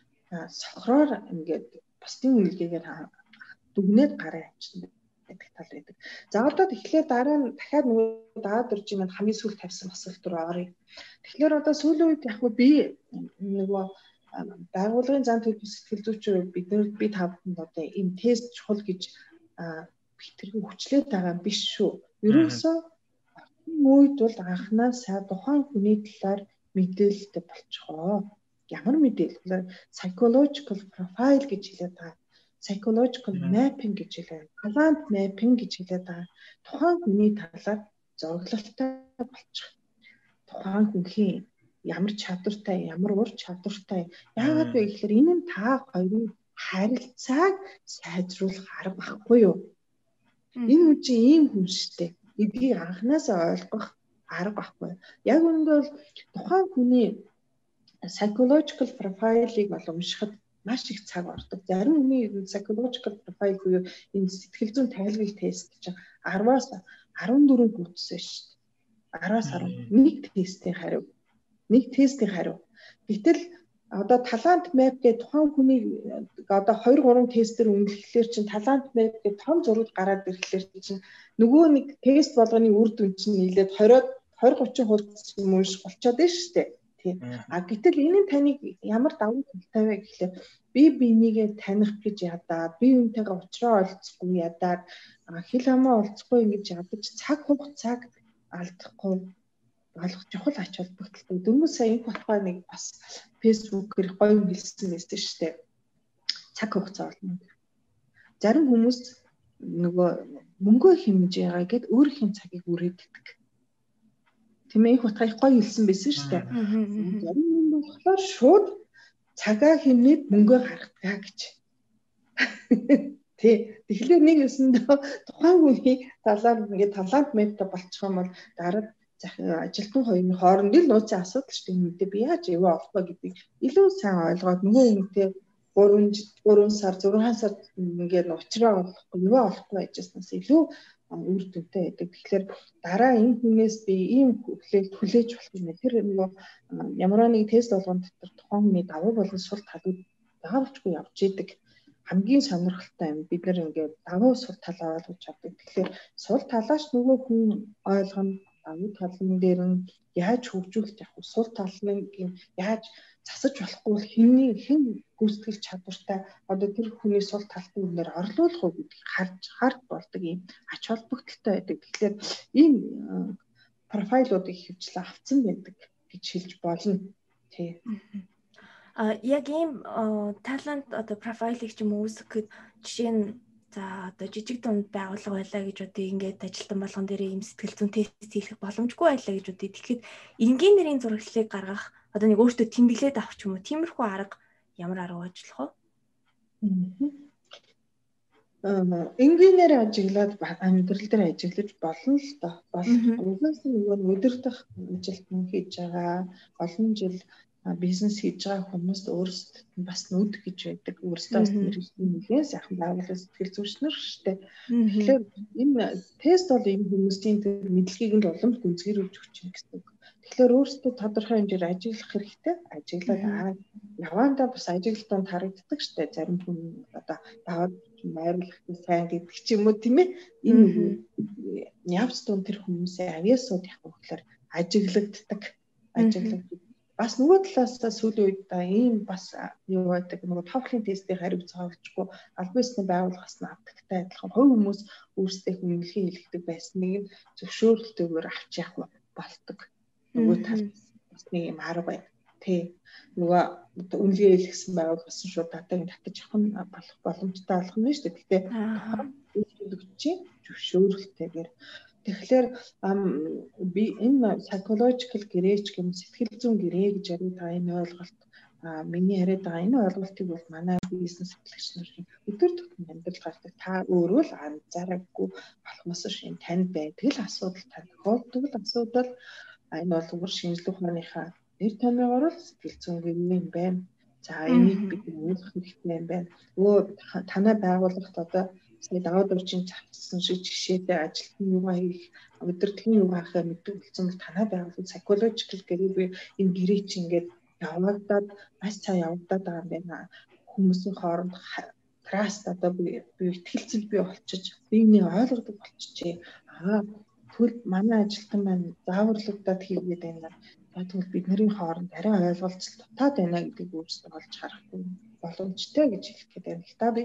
сохроор ингээд бусдын үнэлгээгээр дүгнээд гараа авчихсан байдаг тал байдаг. За одоо тэгэхээр дараа нь дахиад нөгөө даад дөржийн манд хамгийн сүүл тавьсан асуулт руу оръё. Тэгэхээр одоо сүүлийн үед яг би нөгөө байгууллагын зан төлөв сэтгэл зүйчээр бид нар би та бүхэнд одоо ийм тест чухал гэж битэргүй хүчлээд байгаа биш шүү. Ерөөсөө үед бол анхнаасаа тухайн хүний талаар мэдээлэлтэй болчихоо. Ямар мэдээлэл? Psychological profile гэж хэлээд байгаа. Psychological mapping гэж хэлээд, talent mapping гэж хэлээд байгаа. Тухайн хүний талаар зоглолтой болчих. Тухайн хүний ямар чадвартай, ямар ур чадвартай. Яагаад вэ гэхээр энэ нь та хоёрын харилцааг сайжруулах арга байхгүй юу? Энэ хүн чинь ийм хүн шүү дээ. Эдгийг анханасаа ойлгох арга байхгүй. Яг үүндээ бол тухайн хүний psychological profile-ыг бол уншихад маш их цаг ордог. Зарим хүний psychological profile буюу энэ сэтгэл зүйн тайлбар тест чинь араваас арван дөрөв гүйтсэн шүү дээ. араваас арван тестийн хариу. Нэг тестийн хариу. Гэтэл одоо талант map гэдэг тухайн хүний одоо хоёр гурван тестээр үнэлэхлээр чинь талант map гэдэг том зураг гараад ирэхлээр чинь нөгөө нэг тест болгоны үр дүн чинь нийлээд двадцать двадцать тридцать хувьд юм уу болчиход байна шүү дээ. Тийм. А гэтэл энэ нь таныг ямар давуу талтай вэ гэхлээр би бинийгээ таних гэж ядаад, би үүнтэйгээ уулзраа олцохгүй ядаад, хэл хамаа олцохгүй ингэж ядаж цаг хугацааг алдахгүй болох чухал ач холбогдолтой. Дөнгөж сая энэ батгай нэг бас фэйсбүүкээр гоё хэлсэн байсан шүү дээ. Цаг хугацаа болно. Зарим хүмүүс нөгөө мөнгө хэмжээгаа гэд өөрийнхөө цагийг үрээддэг. Тийм ээ, их батгай гоё хэлсэн байсан шүү дээ. Зарим хүн болохоор шууд цагаа хэмнээд мөнгө гаргадаг гэж. Тий. Тэгэхээр нэг өсөндөө тухайн хүний талаар ингээд талант мэтэ болчих юм бол дараа ажилтны хоёрын хооронд л нууцын асуудал шүү дээ. Мэдээ би яаж ивэ олохгүй гэдгийг илүү сайн ойлгоод нөгөө хүнтэй гурван сар зургаан сар ингээд уучраа олохгүй ивэ олохгүй байжснаас илүү үр дүнтэй байдаг. Тэгэхээр дараа энэ хүнээс би ийм хүлээлт хүлээж болох юм. Тэр нөгөө ямар нэг тест болгон дотор тухайн хүний давуу болон сул талууд даавчгүй явж идэг. Хамгийн сонирхолтой юм. Бид нэр ингээд давуу сул талаа ойлгож авдаг. Тэгэхээр сул талаач нөгөө хүн ойлгоно. Давуу талын дээр нь яаж хөгжүүлж явах вэ? Сул талын яаж засаж болохгүй хинний хэн гүйцэтгэл чадвартай одоо тэр хүний сул талын үнээр орлуулах уу гэдгийг харж хард болдог юм ач холбогдолтой байдаг. Тэгэхээр ийм профайлуудыг хөвчлээ авцсан байдаг гэж хэлж болно. Тий. А яг ийм талант одоо профайлыг ч юм уу үүсгэхэд жишээ нь за одоо жижиг дунд байгууллага байлаа гэж одоо ингээд ажилтан болгон дээр ийм сэтгэл зүйн тест хийх боломжгүй байлаа гэж үгүй. Тэгэхэд энгийн нэрийн зураглалыг гаргах одоо нэг өөртөө тэмдэглээд авах ч юм уу тиймэрхүү арга ямар арга ажиллах вэ? Аа энгийнээр ажиглаад амьдрал дээр ажиглаж болно л доо. Угаас нь нөгөө өдөр дах ажилтнаа хийж байгаа олон жил бизнес хийж байгаа хүмүүст өөрсдөд бас нүд гэж байдаг. Өөрсдөө бас нэлээд сайхан байгууллага сэтгэл зүйчнэр шүү дээ. Тэгэхээр энэ тест бол энэ хүмүүсийн тэр мэдлэгийг нь улам гүнзгийрүүлж өгч юм гэсэн үг. Тэгэхээр өөрсдөө тодорхой хэмжээр ажиглах хэрэгтэй. Ажиглаад явандаа бас ажиглалтанд харагддаг шүү дээ. Зарим хүн одоо даваад найруулах сайн гэдэг ч юм уу тийм ээ. Энэ явц дунд тэр хүмүүсээ авьяасууд яг өгөхлөөр ажиглагддаг. Ажиглагддаг. Бас нөгөө талаас сүүлийн үед ийм бас юу байдаг нөгөө TOEFL-ийн тестийг хариуц цаавчгүй албан ёсны байгууллагаас нь авдагтай адилхан хувь хүмүүс өөрсдөө үнэлгээ хийлгдэг байсныг нь зөвшөөрөлтөөр авч явах болдог. Нөгөө талаас бас нэг юм арга байна. Тэ нөгөө үнэлгээ хийлгэсэн байгууллагаас нь шууд датагийн татаж авах нь болох боломжтой болох нь шүү дээ. Гэхдээ үйлчлэгчийн зөвшөөрөлтөөр тэгэхээр би энэ psychological гэрээч гэм сэтгэл зүйн гэрээ гэж яриад байгаа энэ ойлголт миний яриад байгаа энэ ойлголтыг бол манай бизнес эрхлэгч нарын өдөр тутмын амьдрал гардаг та өөрөө л анзаараагүй болохоос шин танд байдаг л асуудал тань тохиолдог л асуудал энэ бол өөр шинжлэх ухааныхаа нэр томьёогоор л сэтгэл зүйн гэрээ юм байна. За энийг бид ойлгох хэрэгтэй юм байна. Өө танай байгууллагт одоо сая даваад орчин завцсан шиг жишээтэй ажилтны юугаа хийх, удирдлагын юугаа хийх мэддэг болсон бол танай байгууллага psychological гэрээ энэ гэрээ чи ингээд явагдаад маш сайн явагдаад байгаа юм байна. Хүмүүсийн хооронд trust одоо би ихтгэлцэл бий болчих, биений ойлгодог болчихжээ. Аа тэгвэл манай ажилтан маань зааварлагдаад хийгээд байна. Тэгвэл бидний хооронд арай ойлголцол дутаад байна гэдгийг өөрсдөө олж харахгүй боломжтой гэж хэлэх гээд байна л та би.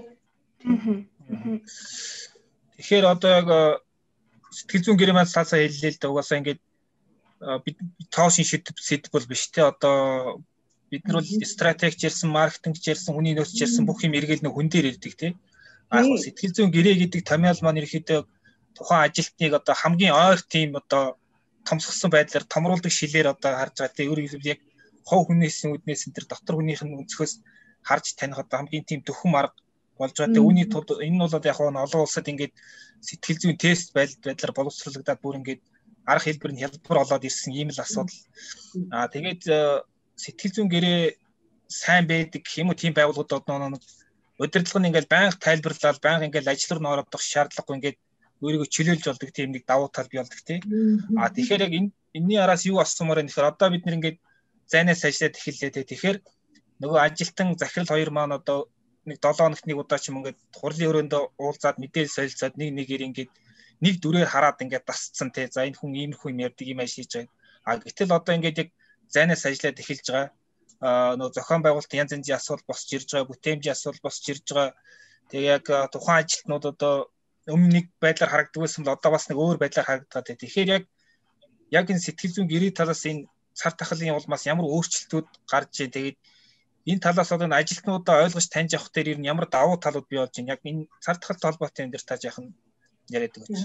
Тэгэхээр одоо яг сэтгэл зүйн гэрээ маань саасаа хэллээ л да угаасаа ингээд бид тоошин шийдэх сэдв бол биш те одоо бид нар бол стратегич ярьсан, маркетинг ярьсан, хүний нөөц ярьсан бүх юм эргэл нэг хүн дээр ирдэг те. Аа сэтгэл зүйн гэрээ гэдэг томьёол маань ерөөхдөө тухайн ажилтныг одоо хамгийн ойр тийм одоо томсгосон байдлаар томруулдаг шилээр одоо харж байгаа те. Өөрөөр хэлбэл яг хов хүнээс үднээс энэ төр дотор хүнийх нь өнцгөөс харж таних одоо хамгийн тийм дөхөн арга болж байгаа те. Үүний тулд энэ нь бол яг олон улсад ингээд сэтгэл зүйн тест байдлаар боловсруулагдаад бүр ингээд арга хэлбэр нь хялбар болоод ирсэн ийм л асуудал. Аа тэгээд сэтгэл зүйн гэрээ сайн байдаг гэх юм уу тийм байгууллагууд одоо нэг удирдлага нь ингээд байнга тайлбарлаад байнга ингээд ажил руу орох шаардлагагүй ингээд өөрийгөө чөлөөлж болдог тийм нэг давуу тал бий болдог тийм. Аа тэгэхээр яг энэ энэний араас юу асуумаар байна гэхээр одоо бид нэг ингээд зайнаас ажиллаад эхэллээ тийм. Тэгэхээр нөгөө ажилтан захирал хоёр маань одоо нэг долоо хоногт нэг удаа ч юм ингээд хурлын өрөөндөө уулзаад мэдээлэл солилцоод нэг нэгээр ингээд нэг дүрээр хараад ингээд дасцсан тий. За энэ хүн иймэрхүү юм ярьдаг юм ажиж байгаа. А гэтэл одоо ингээд яг зайнаас ажиллаад эхэлж байгаа. Аа нөгөө зохион байгуулалтын янз янзын асуудал босч ирж байгаа, бүтээмжийн асуудал босч ирж байгаа. Тэг яг тухайн ажилтнууд одоо өмнө нэг байдлаар харагддаг байсан бол одоо бас нэг өөр байдлаар харагдаад тий. Тэгэхээр яг яг энэ сэтгэл зүйн гэрээ талаас энэ цар тахлын улмаас ямар өөрчлөлтүүд гарч ийн тэгээд энэ талаас одоо ажилтнуудаа ойлгож таньж авах дээр ер нь ямар давуу талууд бий болж байна. Яг энэ цар тахалтай холбоотой юм дээр та жаахан яриад өгөөч.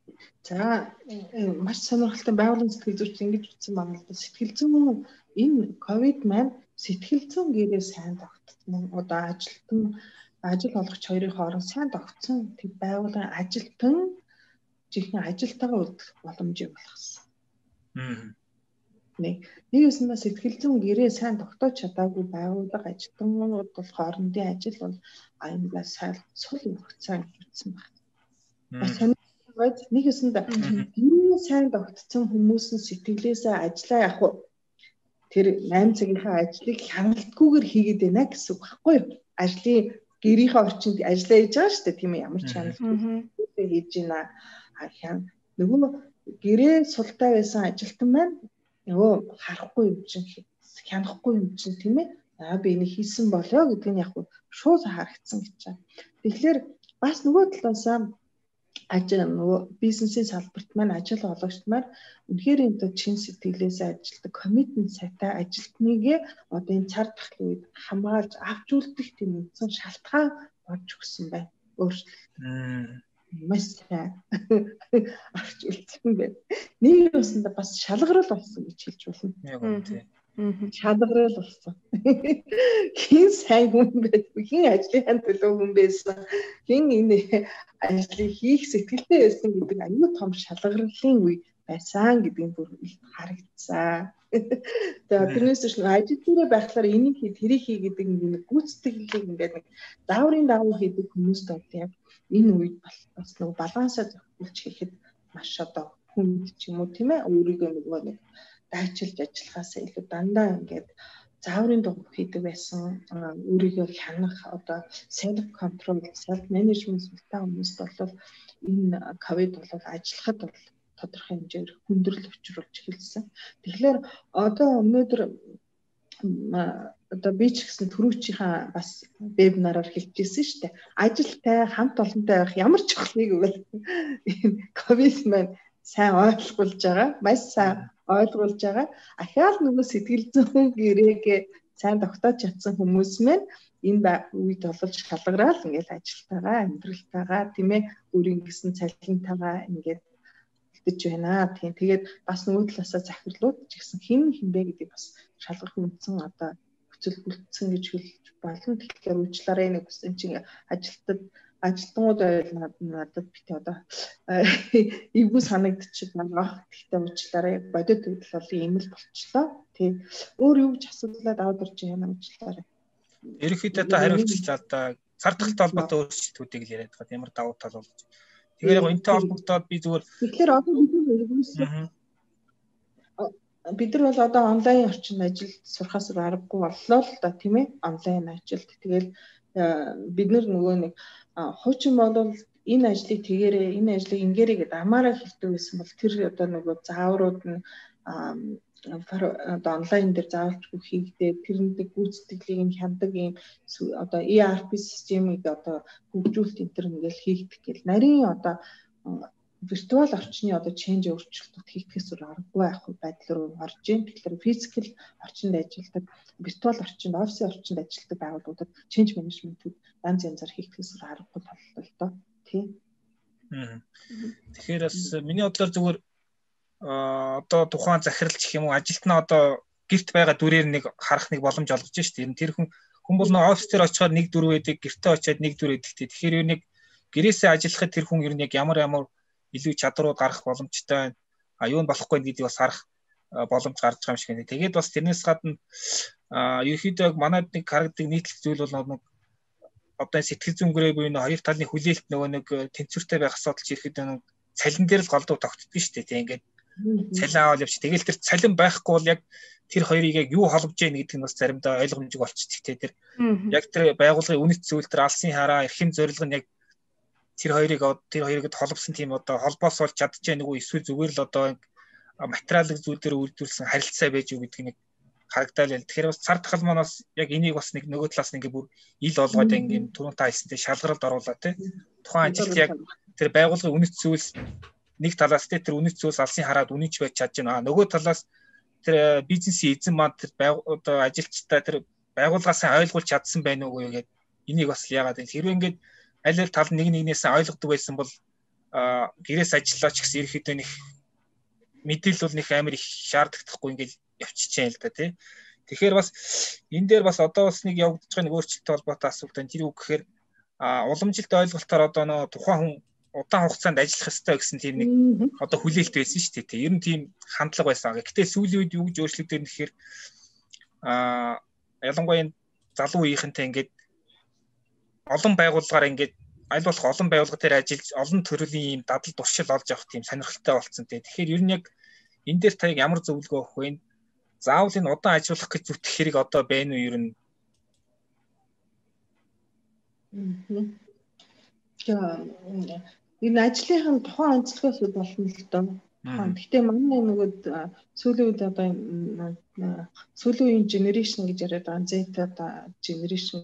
За маш сонирхолтой байгууллагын сэтгэл зүйч ингэж утсан байна л да. Сэтгэл зүйн энэ ковид маань сэтгэл зүйн гэрээ сайн тогтсон. Одоо ажилтан ажил олгогч хоёрын хооронд сайн тогтсон тэг байгууллагын ажилтан жинхэнэ ажилтайгаа үлдэх боломжийг болгосон. Аа. Нэг нэг юуснаа сэтгэл зүйн гэрээ сайн тогтоож чадаагүй байгууллага ажилтнууд бол хоорондын ажил бол аюулгүй сайн сул өгцөн гэсэн байна. Сонирхолтой нэг юуснаа гэрээ сайн тогтсон хүмүүс нь сэтгэлээсээ ажиллаа явах уу? Тэр восемь цагийнхаа ажлыг хяналтгүйгээр хийгээд байна гэсэн үг байхгүй юу? Ажлын гэрийнхээ орчинд ажиллаа хийж байгаа шүү дээ тийм ээ ямар ч хяналтгүй хийж байна. А хян нөгөө гэрээ султай байсан ажилтан маань нөгөө харахгүй юм чинь хянахгүй юм чинь тийм ээ. Аа би энийг хийсэн болоо гэдэг нь яг шууд харагдсан гэж байна. Тэгэхээр бас нөгөө талаасаа ажил нөгөө бизнесийн салбарт маань ажил олгогчд маань үнэхээр энэ чин сэтгэлээсээ ажилтдаг коммитмент сайтай ажилтныг одоо энэ цар тахлын үед хамгаалж авч үлдэх тийм үндсэн шалтгаан болж өгсөн байна. Өөрчлөлт. Маш сайн авч үлдсэн байна. Нэг юусанда бас шалгарал болсон гэж хэлж болно. Яг үнэ тийм. Шалгарал болсон. Хин сайн хүн байсан, хин ажлын төлөө хүн байсан, хин энэ ажлыг хийх сэтгэлтэй байсан гэдэг аюул том шалгарлын үе байсан гэдгийг бүр их харагдсан. Тэгээд тэрнээс ч ажил дээр байхлаар энийг хий, тэрийг хий гэдэг нэг гүйцэтгэлийг ингээд нэг зааврын дагуу хийдэг хүмүүст бол яг энэ үед бас нэг балансаа зохиолч хийхэд маш одоо хүнд ч юм уу тийм ээ өөрийгөө нөгөө нэг дайчилж ажиллахаас илүү дандаа ингээд зааврын дагуу хийдэг байсан өөрийгөө хянах одоо self control, self managementтай хүмүүст бол энэ ковид бол ажиллахад бол тодорхой хэмжээр хүндрэл учруулж эхэлсэн. Тэгэхээр одоо өнөөдөр одоо би ч гэсэн түрүүчийнхаа бас вебинараар хэлчихсэн шүү дээ. Ажилтай хамт олонтой байх ямар ч чухлыг бол ковид маань сайн ойлгуулж байгаа. Маш сайн ойлгуулж байгаа. Ахаал нөгөө сэтгэл зүйн гэрээгээ сайн тогтоож чадсан хүмүүс маань энэ үед бол шалгараал ингээл ажилтайгаа, амьдралтайгаа тийм ээ өөрийн гэсэн цалинтайгаа ингээд гэж байна. Тийм. Тэгээд бас нөгөө талаасаа захирлууд ч гэсэн хэн хинбэ гэдэг бас шалгах үндсэн одоо хүчил бүрдсэн гэж хэлж болно. Тэгэхээр уучлаарай нэг үсэн чинь ажилтнууд ажилтнууд надад бит одоо эвгүй санагдчих байгаа. Гэхдээ уучлаарай бодит байдал бол ийм л болчлоо. Тийм. Өөр юу ч асуудлаад аваад орж яана уучлаарай. Ерөнхийдөө та хариуцч одоо цар тахалтай холбоотой өөрчлөлтүүдийг л яриад байгаа. Ямар давуу тал болж. Тэгэхээр яг энэтэй холбогдоод би зүгээр тэгэхээр одоо бид нар бол одоо онлайн орчинд ажиллаж сурахаас аргагүй боллоо л да тийм ээ онлайн ажилд. Тэгэл бид нар нөгөө нэг хуучин бол энэ ажлыг тэгээрээ энэ ажлыг ингээрэй гэдээ амаараа хэлдэг байсан бол тэр одоо нөгөө зааврууд нь одоо онлайн дээр заавалчгүй хийгдээ тэрний гүйцэтгэлийг нь хяндаг юм одоо и ар пи системийг одоо хөгжүүлэлт энэ төр ингээл хийгдэх гэл нарийн одоо виртуал орчны одоо change өөрчлөлтүүд хийхээс өөр аргагүй байх байдал руу орж ийн. Тэгэхээр физикал орчинд ажилладаг, виртуал орчинд, офисын орчинд ажилладаг байгууллагуудад change management-үүд янз янзаар хийхээс өөр аргагүй боллоо л доо. Тийм. Тэгэхээр бас миний бодлоор зүгээр одоо тухайн захиралч гэх юм уу ажилтнаа одоо гэрт байгаа дүрээр нэг харах нэг боломж олгож штэ. Ер нь тэр хүн хүн бол нэг офис дээр очихоор нэг дүр байдаг, гэртээ очиад нэг дүр байдаг. Тэгэхээр ер нэг гэрээсээ ажиллахад тэр хүн ер нь яг ямар ямар илүү чадрууд гарах боломжтой а юу нь болохгүй гэдгийг бас харах боломж гарч байгаа юм шиг байна. Тэгээд бас тэрнээс гадна ерөөхдөө манайд нэг харагддаг нийтлэг зүйл бол нэг одоо сэтгэл зүйн гэрээ буюу хоёр талын хүлээлт нөгөө нэг тэнцвэртэй байх асуудал ч ерөөхдөө нэг цалин дээр л голдуу тогтдог шүү дээ. Тэг ингээд цалин аваад явчих. Тэгэл тэр цалин байхгүй бол яг тэр хоёрыг яг юу холбож яах гэдэг нь бас заримдаа ойлгомжтой болчихчих. Тэ тэр яг тэр байгууллагын үнэт зүйл тэр алсын хараа эрхэм зорилго нь яг тэр хоёрыг тэр хоёрыг холбосон тийм одоо холбоос болж чадчихэ нэг үү эсвэл зүгээр л одоо материалын зүйлээр үйлдвэрлэсэн харилцаа байж юу гэдэг нэг харагдал ял. Тэгэхээр бас цар тахал маань бас яг энийг бас нэг нөгөө талаас нэг бүр ил олгоод ингээд түрүүн та хэлсэнтэй шалгаралд оруулаа тий. Тухайн ажилт яг тэр байгууллагын үнэт зүйлс нэг талаас тий тэр үнэт зүйлс алсын хараад үнэнч байж чадж байна. Нөгөө талаас тэр бизнесийн эзэн маань тэр одоо ажилчтай тэр байгууллагаас ойлгуулж чадсан байна уу гэдэг энийг бас яагаад вэ? Хэрвээ ингээд аль аль тал нэг нэгнээс ойлгодог байсан бол гэрээс ажиллаач гэсэн ерөөхдөө нэг мэдээлэл бол нэг амар их шаардлагатахгүй ингээд явчихжээ л да тий. Тэгэхээр бас энэ дээр бас одоо бас нэг явагдаж байгаа нэг өөрчлөлттэй холбоотой асуулт байна. Тэр үг гэхээр уламжилт ойлголтоор одоо нөө тухайн хүн удаан хугацаанд ажиллах ёстой гэсэн тийм нэг одоо хүлээлт байсан шүү дээ. Ер нь тийм хандлага байсан. Гэхдээ сүүлийн үед юу гэж өөрчлөгдөв гэхээр а ялангуяа энэ залуу үеийнхэнтэй ингээд олон байгууллагаар ингээд аль болох олон байгууллага дээр ажиллаж олон төрлийн ийм дадал туршил олж авах тийм сонирхолтой болсон тий. Тэгэхээр ер нь яг энэ дээр та ямар зөвлөгөө өгөх вэ? Заавал энэ удаан ажиллах гэж зүтгэх хэрэг одоо байна уу ер нь? За энэ ажлынхаа тухайн онцлогоос болно л доо. Гэхдээ манай нөгөө сүүлийн үед одоо сүүлийн үеийн generation гэж яриад байгаа Z одоо generation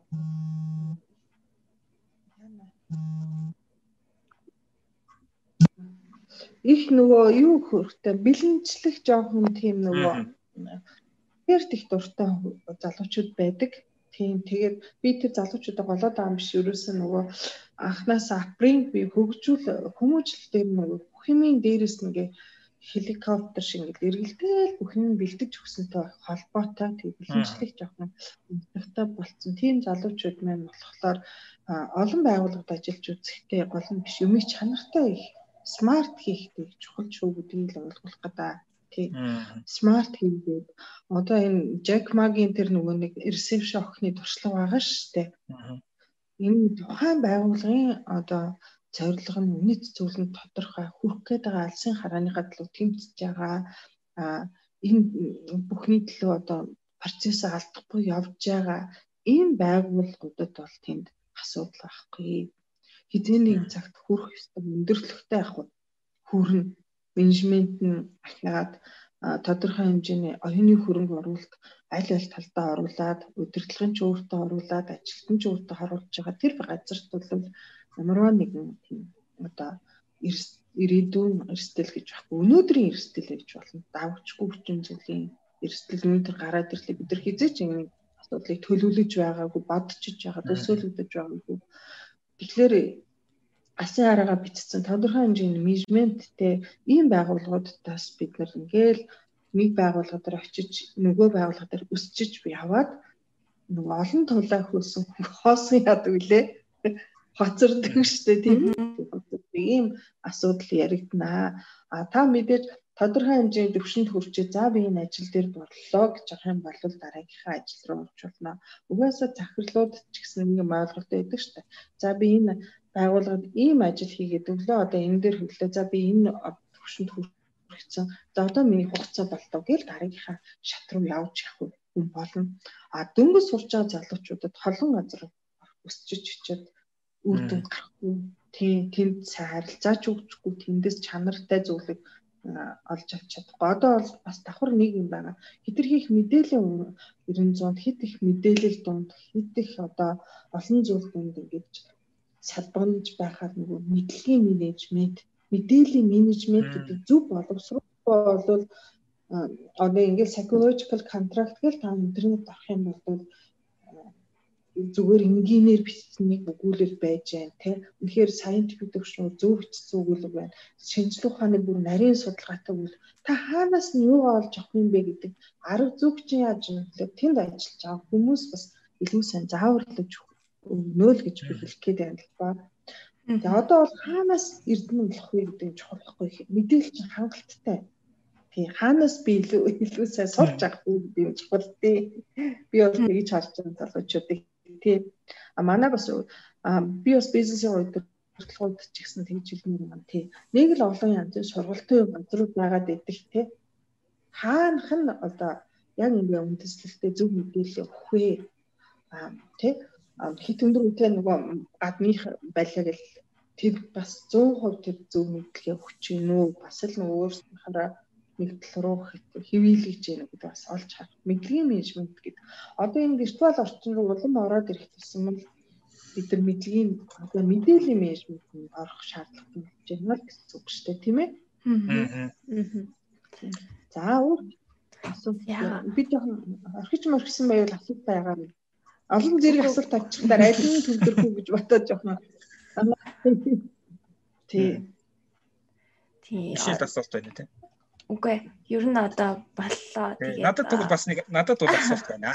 их нөгөө юу хөрхтэй бэлэнчлэх жоохон тийм нөгөө эрт их дуртай залуучууд байдаг. Тийм тэгээд би тэр залуучуудаа голоод байгаа юм биш ерөөсөө нөгөө анханаас апринг би хөгжүүл хүмүүжил дээр нөгөө бүх юмын дээрээс нэгэ хеликоптер шиг ингээд эргэлдээл бүх юм бэлдэж өгсөнтэй холбоотой тийм бэлэнчлэх жоохон өнцгтэй болцсон. Тийм залуучууд маань болохоор олон байгууллагад ажиллаж үзэхдээ гол нь биш юмыг чанартай их смарт хийхдээ чухал шүү гэдгийг л ойлгуулах гэдэг. Тийм. Смарт хийгээд одоо энэ Jack Ma-гийн тэр нөгөө нэг reception охины туршлага байгаа шүү дээ. Энэ тухайн байгууллагын одоо зорилго нь үнэт зөвлөнд тодорхой хүрх гээд байгаа алсын харааныхаа төлөө тэмцэж байгаа. А энэ бүхний төлөө одоо процессыг алдахгүй явж байгаа ийм байгууллагуудад бол тэнд асуудал байхгүй. Хэдийний цагт хүрэх ёстой өндөрлөгтэй авах хүрнэ. Менежмент нь ахаад тодорхой хэмжээний оюуны хөрөнгө оруулалт аль аль талдаа оруулаад удирдлагын ч өөртөө оруулаад ажилтны ч өөртөө харуулж байгаа тэр газарт бол ямарваа нэгэн тийм одоо ирээдүйн эрсдэл гэж байхгүй өнөөдрийн эрсдэл гэж болно. Давчгүй хүчин зүйлийн эрсдэл өнөөдөр гараад ирлээ бид нар хизээч энэ асуудлыг төлөвлөж байгаагүй бодчихж байгаа төсөөлөгдөж байгаагүй. Тэгэхээр алсын хараагаа бичсэн тодорхой хэмжээний менежменттэй ийм байгууллагуудаас бид нар ингээл нэг байгууллага дээр очиж нөгөө байгууллага дээр өсчиж яваад нөгөө олон тулаа хөөсөн хоосон яадаг үлээ хоцордог штэ тийм ийм асуудал яригдана. А та мэдээж тодорхой хэмжээний төвшөнд хүрчээ за би энэ ажил дээр боллоо гэж байгаа юм бол дараагийнхаа ажил руу орчуулна. Угаасаа захирлууд ч гэсэн нэг юм ойлголт байдаг шүү дээ. За би энэ байгууллагад ийм ажил хийгээд өглөө одоо энэ дээр хөглөө. За би энэ төвшөнд хүрчихсэн. За одоо миний хугацаа боллоо гэж дараагийнхаа шат руу явж явах юм болно. А дөнгөж сурч байгаа залуучуудад холон газар өсчиж очиод үр дүн гарахгүй. Тийм тэнд сайн харилцаач өгчихгүй тэндээс чанартай зүйлийг олж авч чадахгүй. Одоо бол бас давхар нэг юм байна. Хэтэрхий их мэдээллийн ерөн зуунд хит их мэдээлэл дунд хит их одоо олон зүйл дунд ингэж салбарж байхад нөгөө мэдлэгийн менежмент, мэдээллийн менежмент гэдэг зөв боловсруулалтаа бол одоо ингээд psychological contract гэж та интернет авах юм бол зүгээр инженеэр бичсэнийг өгүүлэл байж байна тий. Үнэхээр scientific төвшин зөв бичсэн өгүүлэг байна. Шинжлэх ухааны бүр нарийн судалгаатай үйл та хаанаас нь юу олж авах юм бэ гэдэг арга зүйч яаж юм бэ? Тэнд ажиллаж байгаа хүмүүс бас илүү сайн зааварлаж өгнө л гэж би хэлэх гээд байна л ба. За одоо бол хаанаас эрдэнэ болох вэ гэдэг нь чухал байхгүй. Мэдээлэл чинь хангалттай. Тий хаанаас би илүү илүү сайн сурч авах вэ гэдэг нь чухал тий. Би бол тэгж харж байгаа залуучуудыг тий. А манай бас би бас бизнесийн удирдлагууд ч гэсэн тэгж хэлмээр юм тий. Нэг л олон янзын сургалтын газрууд байгаад идэх тий. Хаанах нь одоо яг ингээ үндэслэлтэй зөв мэдээлэл өгөх вэ? А тий. Хит өндөр үнэтэй нөгөө гадных байлаа гэл тэр бас зуун хувь тэр зөв мэдлэгээ өгч гин үү? Бас л нөгөө өөрсдийнхээ нэгдэл рүү хэвүүлж гэнэ гэдэг бас олж харах. Мэдлэгийн менежмент гэдэг. Одоо энэ виртуал орчин руу улам ороод ирэх гэсэн юм бид нар мэдлэгийн одоо мэдээллийн менежментэнд орох шаардлагатай болж байна л гэсэн үг шүү дээ, тийм ээ? Аа. За өөр асуулт. Би жоохон орхиж морхисон байвал асуулт байгаа юм. Олон зэрэг асуулт тавьчихсан аль нь төвлөрөх гэж бодоод жоохон. Тий. Тий. Ишэл асуулт байна тийм. Үгүй ер нь одоо боллоо тэгээд надад тэгвэл бас нэг надад бол асуулт байна.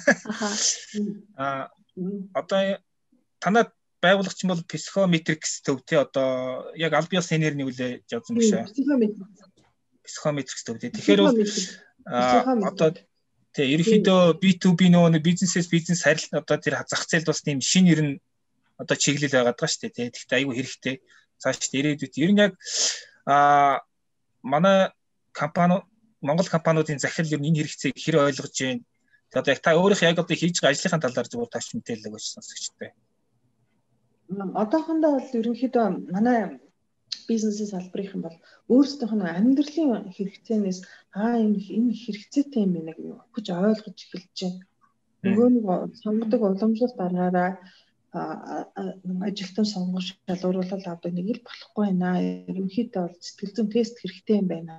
Аа одоо танад байгуулагч бол психометрикс төв тий одоо яг аль биесны нэрний үлээ явсан гэж байна. Психометрикс төв тий. Тэгэхээр бол одоо тий ерөнхийдөө би ту би нөгөө бизнесээс бизнес харилцаа одоо тэр зах зээлд бас тийм шинэ ер нь одоо чиглэл байгаад байгаа шүү дээ тий. Тэгэхдээ аюу хэрэгтэй. Цааш ирээдүйд ер нь яг аа манай компани Монгол компаниудын захирал ер нь энэ хэрэгцээг хэр ойлгож байна. Тэгээд одоо яг та өөрийнхөө яг одоо хийж байгаа ажлынхаа талаар зөвхөн таач мэдээлэл өгөөч сонсогчтой. Одоохондоо бол ерөнхийдөө манай бизнесийн салбарын бол өөрсдийнх нь амьдралын хэрэгцээнээс аа энэ энэ хэрэгцээтэй юм байна гэж ойлгож эхэлж байна. Нөгөө нэг сонгодог уламжлалт дараагаараа ажилтан сонгож шалгууруулалт авдаг нэг л болохгүй байна. Ерөнхийдөө бол сэтгэл зүйн тест хэрэгтэй юм байна.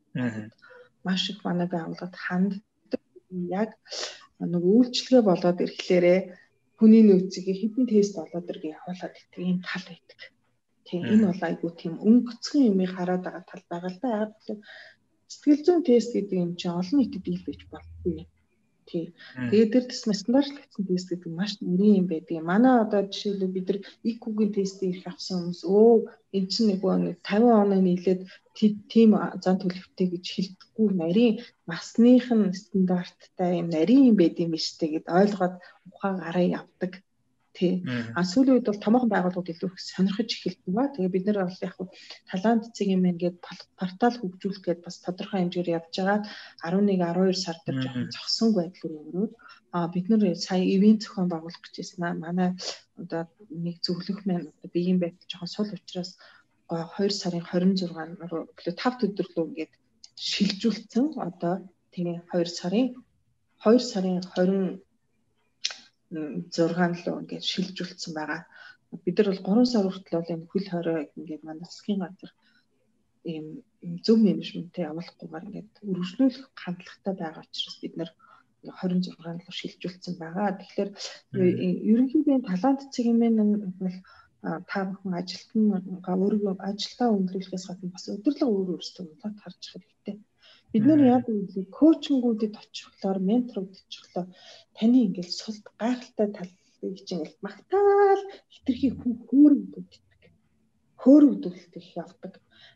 Маш их манай байгууллагад ханддаг яг нэг үйлчлэгээ болоод ирэхлээрээ хүний нөөцийг хэдэн тест болоод ирэх явуулаад гэдэг ийм тал байдаг. Тийм энэ бол айгүй тийм өнгөцгөн юмыг хараад байгаа тал байгаа л да. Яг л сэтгэл зүйн тест гэдэг юм чинь олон нийтэд дийлгэж болтгүй. Тийм. Тэгээд тэр төсмө стандартлагдсан тест гэдэг маш нэрийн юм байдаг. Манай одоо жишээлбэл бид нар ай кью-гийн тестийг ирэх авсан хүмүүс өө эн чинь нэг нэг тавин оноо нийлээд тийм зан төлөвтэй гэж хэлдэггүй нарийн насных нь стандарттай юм нарийн юм байд юм биш үү гэд ойлгоод ухаан гараа явдаг. Тий. А сүүлийн үед бол томоохон байгууллагууд илүү их сонирхож эхэлсэн ба. Тэгээ бид нар бол яг талант цэг юм ингээд портал хөгжүүлэх гээд бас тодорхой хэмжээгээр явж байгаа. арван нэг арван хоёр сар дээр жоохон зогсон байдал руу өрөөд а бид нар сая ивент зохион байгуулах гэж байсан аа. Манай одоо нэг зөвлөх маань одоо биеийн байдал жоохон сул учраас хоёр сарын хорин зургаан руу тав өдөрлөө ингээд шилжүүлсэн. Одоо тэгээ хоёр сарын хоёр сарын хорин зургаан руу ингээд шилжүүлсэн байгаа. Бид нар бол гурван сар хүртэл бол энэ хөл хорой ингээд манай засгийн газар ийм зөв менежменттэй явуулахгүйгээр ингээд өргөжлүүлэх хандлагатай байгаа учраас бид нар хорин зургаан руу шилжүүлсэн байгаа. Тэгэхээр ерөнхийдөө талант цэгмэн бол та бүхэн ажилтнаа өөрийгөө ажилдаа өндөрлөхөөс гадна бас өдөрлөг өөр өөрсдөө удаад харж хэрэгтэй. Бид нар яг үгүй коучингүүдэд очихлоор менторууд очихлоор таны ингээл сул гайхалтай талыг чинь ингээл магтаал хитрхи хүн хөөрөгдүүлдэг. Хөөрөгдүүлэлт их явдаг.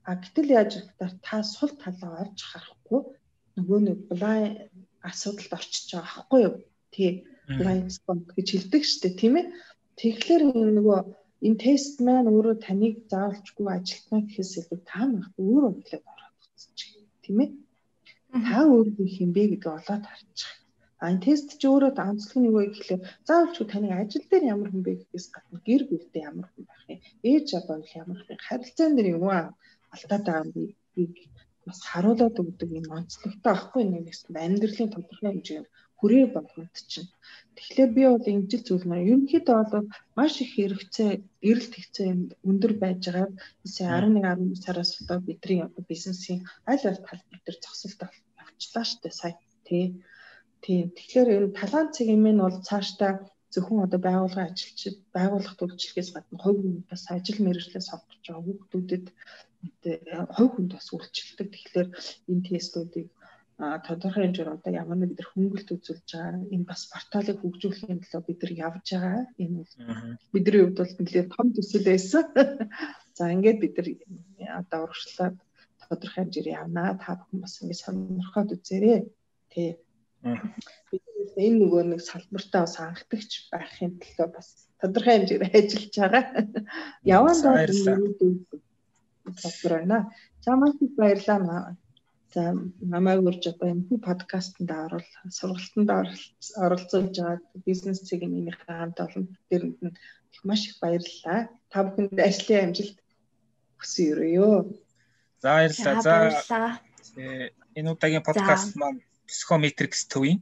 А гэтэл яаж гэхээр та сул талаа орж харахгүй нөгөө нэг blind асуудалд орчиж байгаа байхгүй юу? Тий. Blind spot гэж хэлдэг шүү дээ, тийм ээ. Тэгэхээр нөгөө энэ тест маань өөрөө таныг заавалчгүй ажилтнаа гэхээс илүү та мах өөрөө хэлээд ороод үзчих, тийм ээ. Та өөрөө их юм бэ гэдгийг олоод харчих. А энэ тест чи өөрөө онцлог нь юу вэ гэхлээр заавалчгүй таныг ажил дээр ямар хүн бэ гэдгээс гадна гэр бүлдээ ямар хүн байх юм, ээж аваа ямар хүн, харилцаан дээр юу алдаад байгаа юм бэ бас харуулад өгдөг юм онцлогтой байхгүй нэг гэсэн амьдралын тодорхой хэмжээнд хүрээ болгонд чинь. Тэгэхээр би бол энэ жил зүйл маань ерөнхийдөө бол маш их хэрэгцээ, эрэлт хэрэгцээ өндөр байж байгаа. Эсвэл арван нэг арван deux сараас одоо бидний бизнесийн аль аль тал дээр зогсолт авчлаа штэ сая тий. Тийм. Тэгэхээр энэ талант цэг юм нь бол цаашдаа зөвхөн одоо байгууллагын ажилчид, байгууллага төлөвчлөгөөс гадна хувь хүн бас ажил мэргэжлээ сонгож байгаа хүүхдүүдэд хувь хүнд бас үйлчлдэг. Тэгэхээр энэ тестүүдийг тодорхой хэмжээр одоо ямар нэг бид хөнгөлт үзүүлж байгаа. Энэ бас порталыг хөгжүүлэхийн төлөө бид нар явж байгаа. Энэ бол бидний хувьд бол нэлээд том төсөл байсан. За ингээд бид нар одоо урагшлаад тодорхой хэмжээр явнаа. Та бүхэн бас ингээд сонирхоод үзээрэй. Тий. Бид энэ нөгөө нэг салбартаа бас анхдагч байхын төлөө бас тодорхой хэмжээр ажиллаж байгаа. Яванд бол салбар байна. За маш их баярлалаа. За намайг урьж одоо энэ подкастт орол сургалтанд оролцуулж байгаа бизнес цэгийн минийхээ хамт олон тэрэнд нь маш их баярлалаа. Та бүхэнд ажлын амжилт хүсье. За баярлалаа. За энэ удаагийн подкаст маань Psychometrics төвийн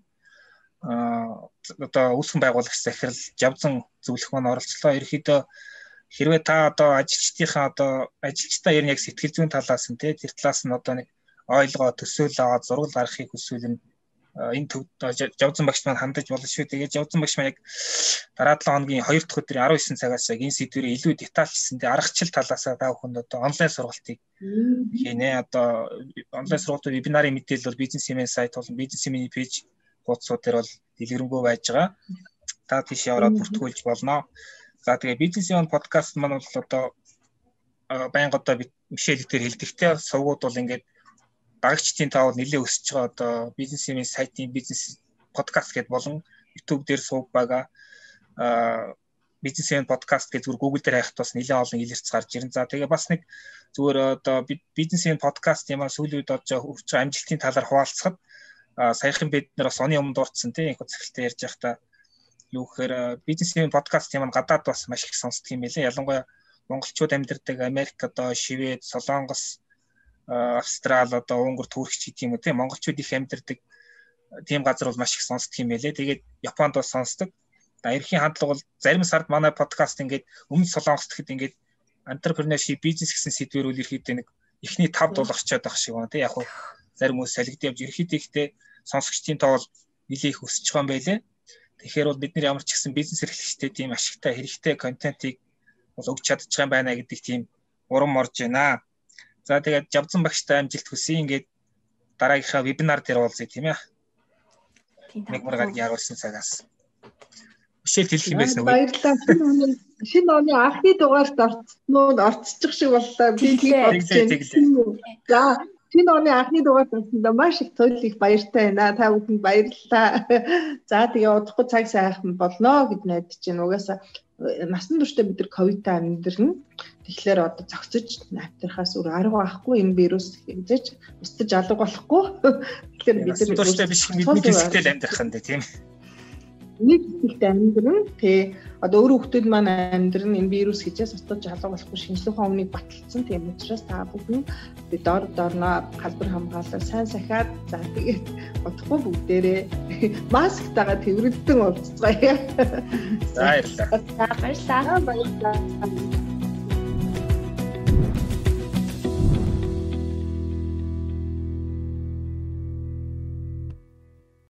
а одоо үүсгэн байгуулагч захирал Жавзан зөвлөх маань оролцлоо. Ерөнхийдөө хэрвээ та одоо ажилчдынхаа одоо ажилчдаа ер нь яг сэтгэл зүйн талаас нь тий тэр талаас нь одоо нэг ойлгоо төсөөл аваад зургал гаргахыг хүсвэл нь энэ төвд Жавзан багш маань хандаж болно шүү. Тэгээд Жавзан багш маань яг дараа долоо хоногийн хоёр дахь өдрийн арван девять цагаас яг энэ сэдвэрээ илүү детальчсэндээ аргачлал талаасаа та бүхэнд одоо онлайн сургалтыг хийнэ. Одоо онлайн сургалтын вебинарын мэдээлэл бол бизнесмен сайт болон бизнесмен пэйж хуудасууд дээр бол дэлгэрэнгүй байж байгаа. Та тийш яваад бүртгүүлж болно. За тэгээ бизнесмен подкаст маань бол одоо байнга одоо Мишель дээр хэлдэгтэй сувгууд бол ингээд багчдын таавал нэлээд өсөж байгаа одоо бизнесмен сайтын бизнес подкаст гэдээ болон YouTube дээр сууг байгаа а бизнесмен подкаст гэж зүгээр Google дээр хайхад бас нэлээд олон илэрч гарч ирэн. За тэгээ бас нэг зүгээр одоо бизнесмен подкаст юм аа сүүлийн үед одоо хүрч байгаа амжилтын талаар хуваалцахад саяхан бид нэр бас оны өмнө дурдсан тийм их үзэлтэй ярьж байхдаа юу гэхээр бизнесмен подкаст юм аа гадаад бас маш их сонсдог юм байлээ. Ялангуяа монголчууд амьдардаг Америк одоо Швед, Солонгос, Австрал одоо Унгар, Туркч гэдэг юм уу тийм монголчууд их амьдардаг тийм газар бол маш их сонсдог юм байлээ. Тэгээд Японд бас сонсдог. Эрхийн хандлага бол зарим сард манай подкаст ингээд өмнө Солонгост гэхэд ингээд entrepreneurship бизнес гэсэн сэдвэр үл ерхийдээ нэг эхний тав дул орчоод байх шиг байна тийм яг хуу зарим хүмүүс салгид явж ерхийдээ ихтэй сонсогчдын тоо бол нэлээд их өсөж байгаа юм байлээ. Тэгэхээр бол бид нар ямар ч гэсэн бизнес эрхлэгчтэй тийм ашигтай хэрэгтэй контентийг бол өгч чадж байгаа юм байна гэдэг тийм урам орж байна. За тэгээд Жавзан багштай амжилт хүсье. Ингээд дараагийнхаа вебинар дээр уулзъя тийм ээ. Нэг маргагийн яруулсан цагаас. Мишель хэлэх юм байсан үү? Баярлалаа. Шинэ оны анхны дугаарт орцсноо орцчих шиг боллоо. Би тийм За шинэ оны анхны дугаарт орсондоо маш их туйл их баяртай байна. Та бүхэнд баярлалаа. За тэгээ удахгүй цаг сайхан болно гэж найдаж байна. Угаасаа насан туршдаа бид нар ковидтай амьдрна. Тэгэхээр одоо зогсож амьдрахаас өөр арга байхгүй энэ вирус хэмжиж устж алга болохгүй. Тэгэхээр бид нар туршдаа биш мэдээ хэсэгтэй амьдрах юм даа тийм. Нэг хэсэгтэй амьдрна. Тэ одоо өөр хүмүүс маань амьдрна энэ вирус хичээс устж алга болохгүй шинжлэх ухааны өмнөийг баталсан. Тийм учраас та бүхэн бид дор дорноо халбар хамгаалал сайн сахиад за тэгээд бодохгүй бүгдээрээ масктайгаа тэрвэрлэн уулзцгаая. За баярлалаа. За баярлалаа. Баярлалаа.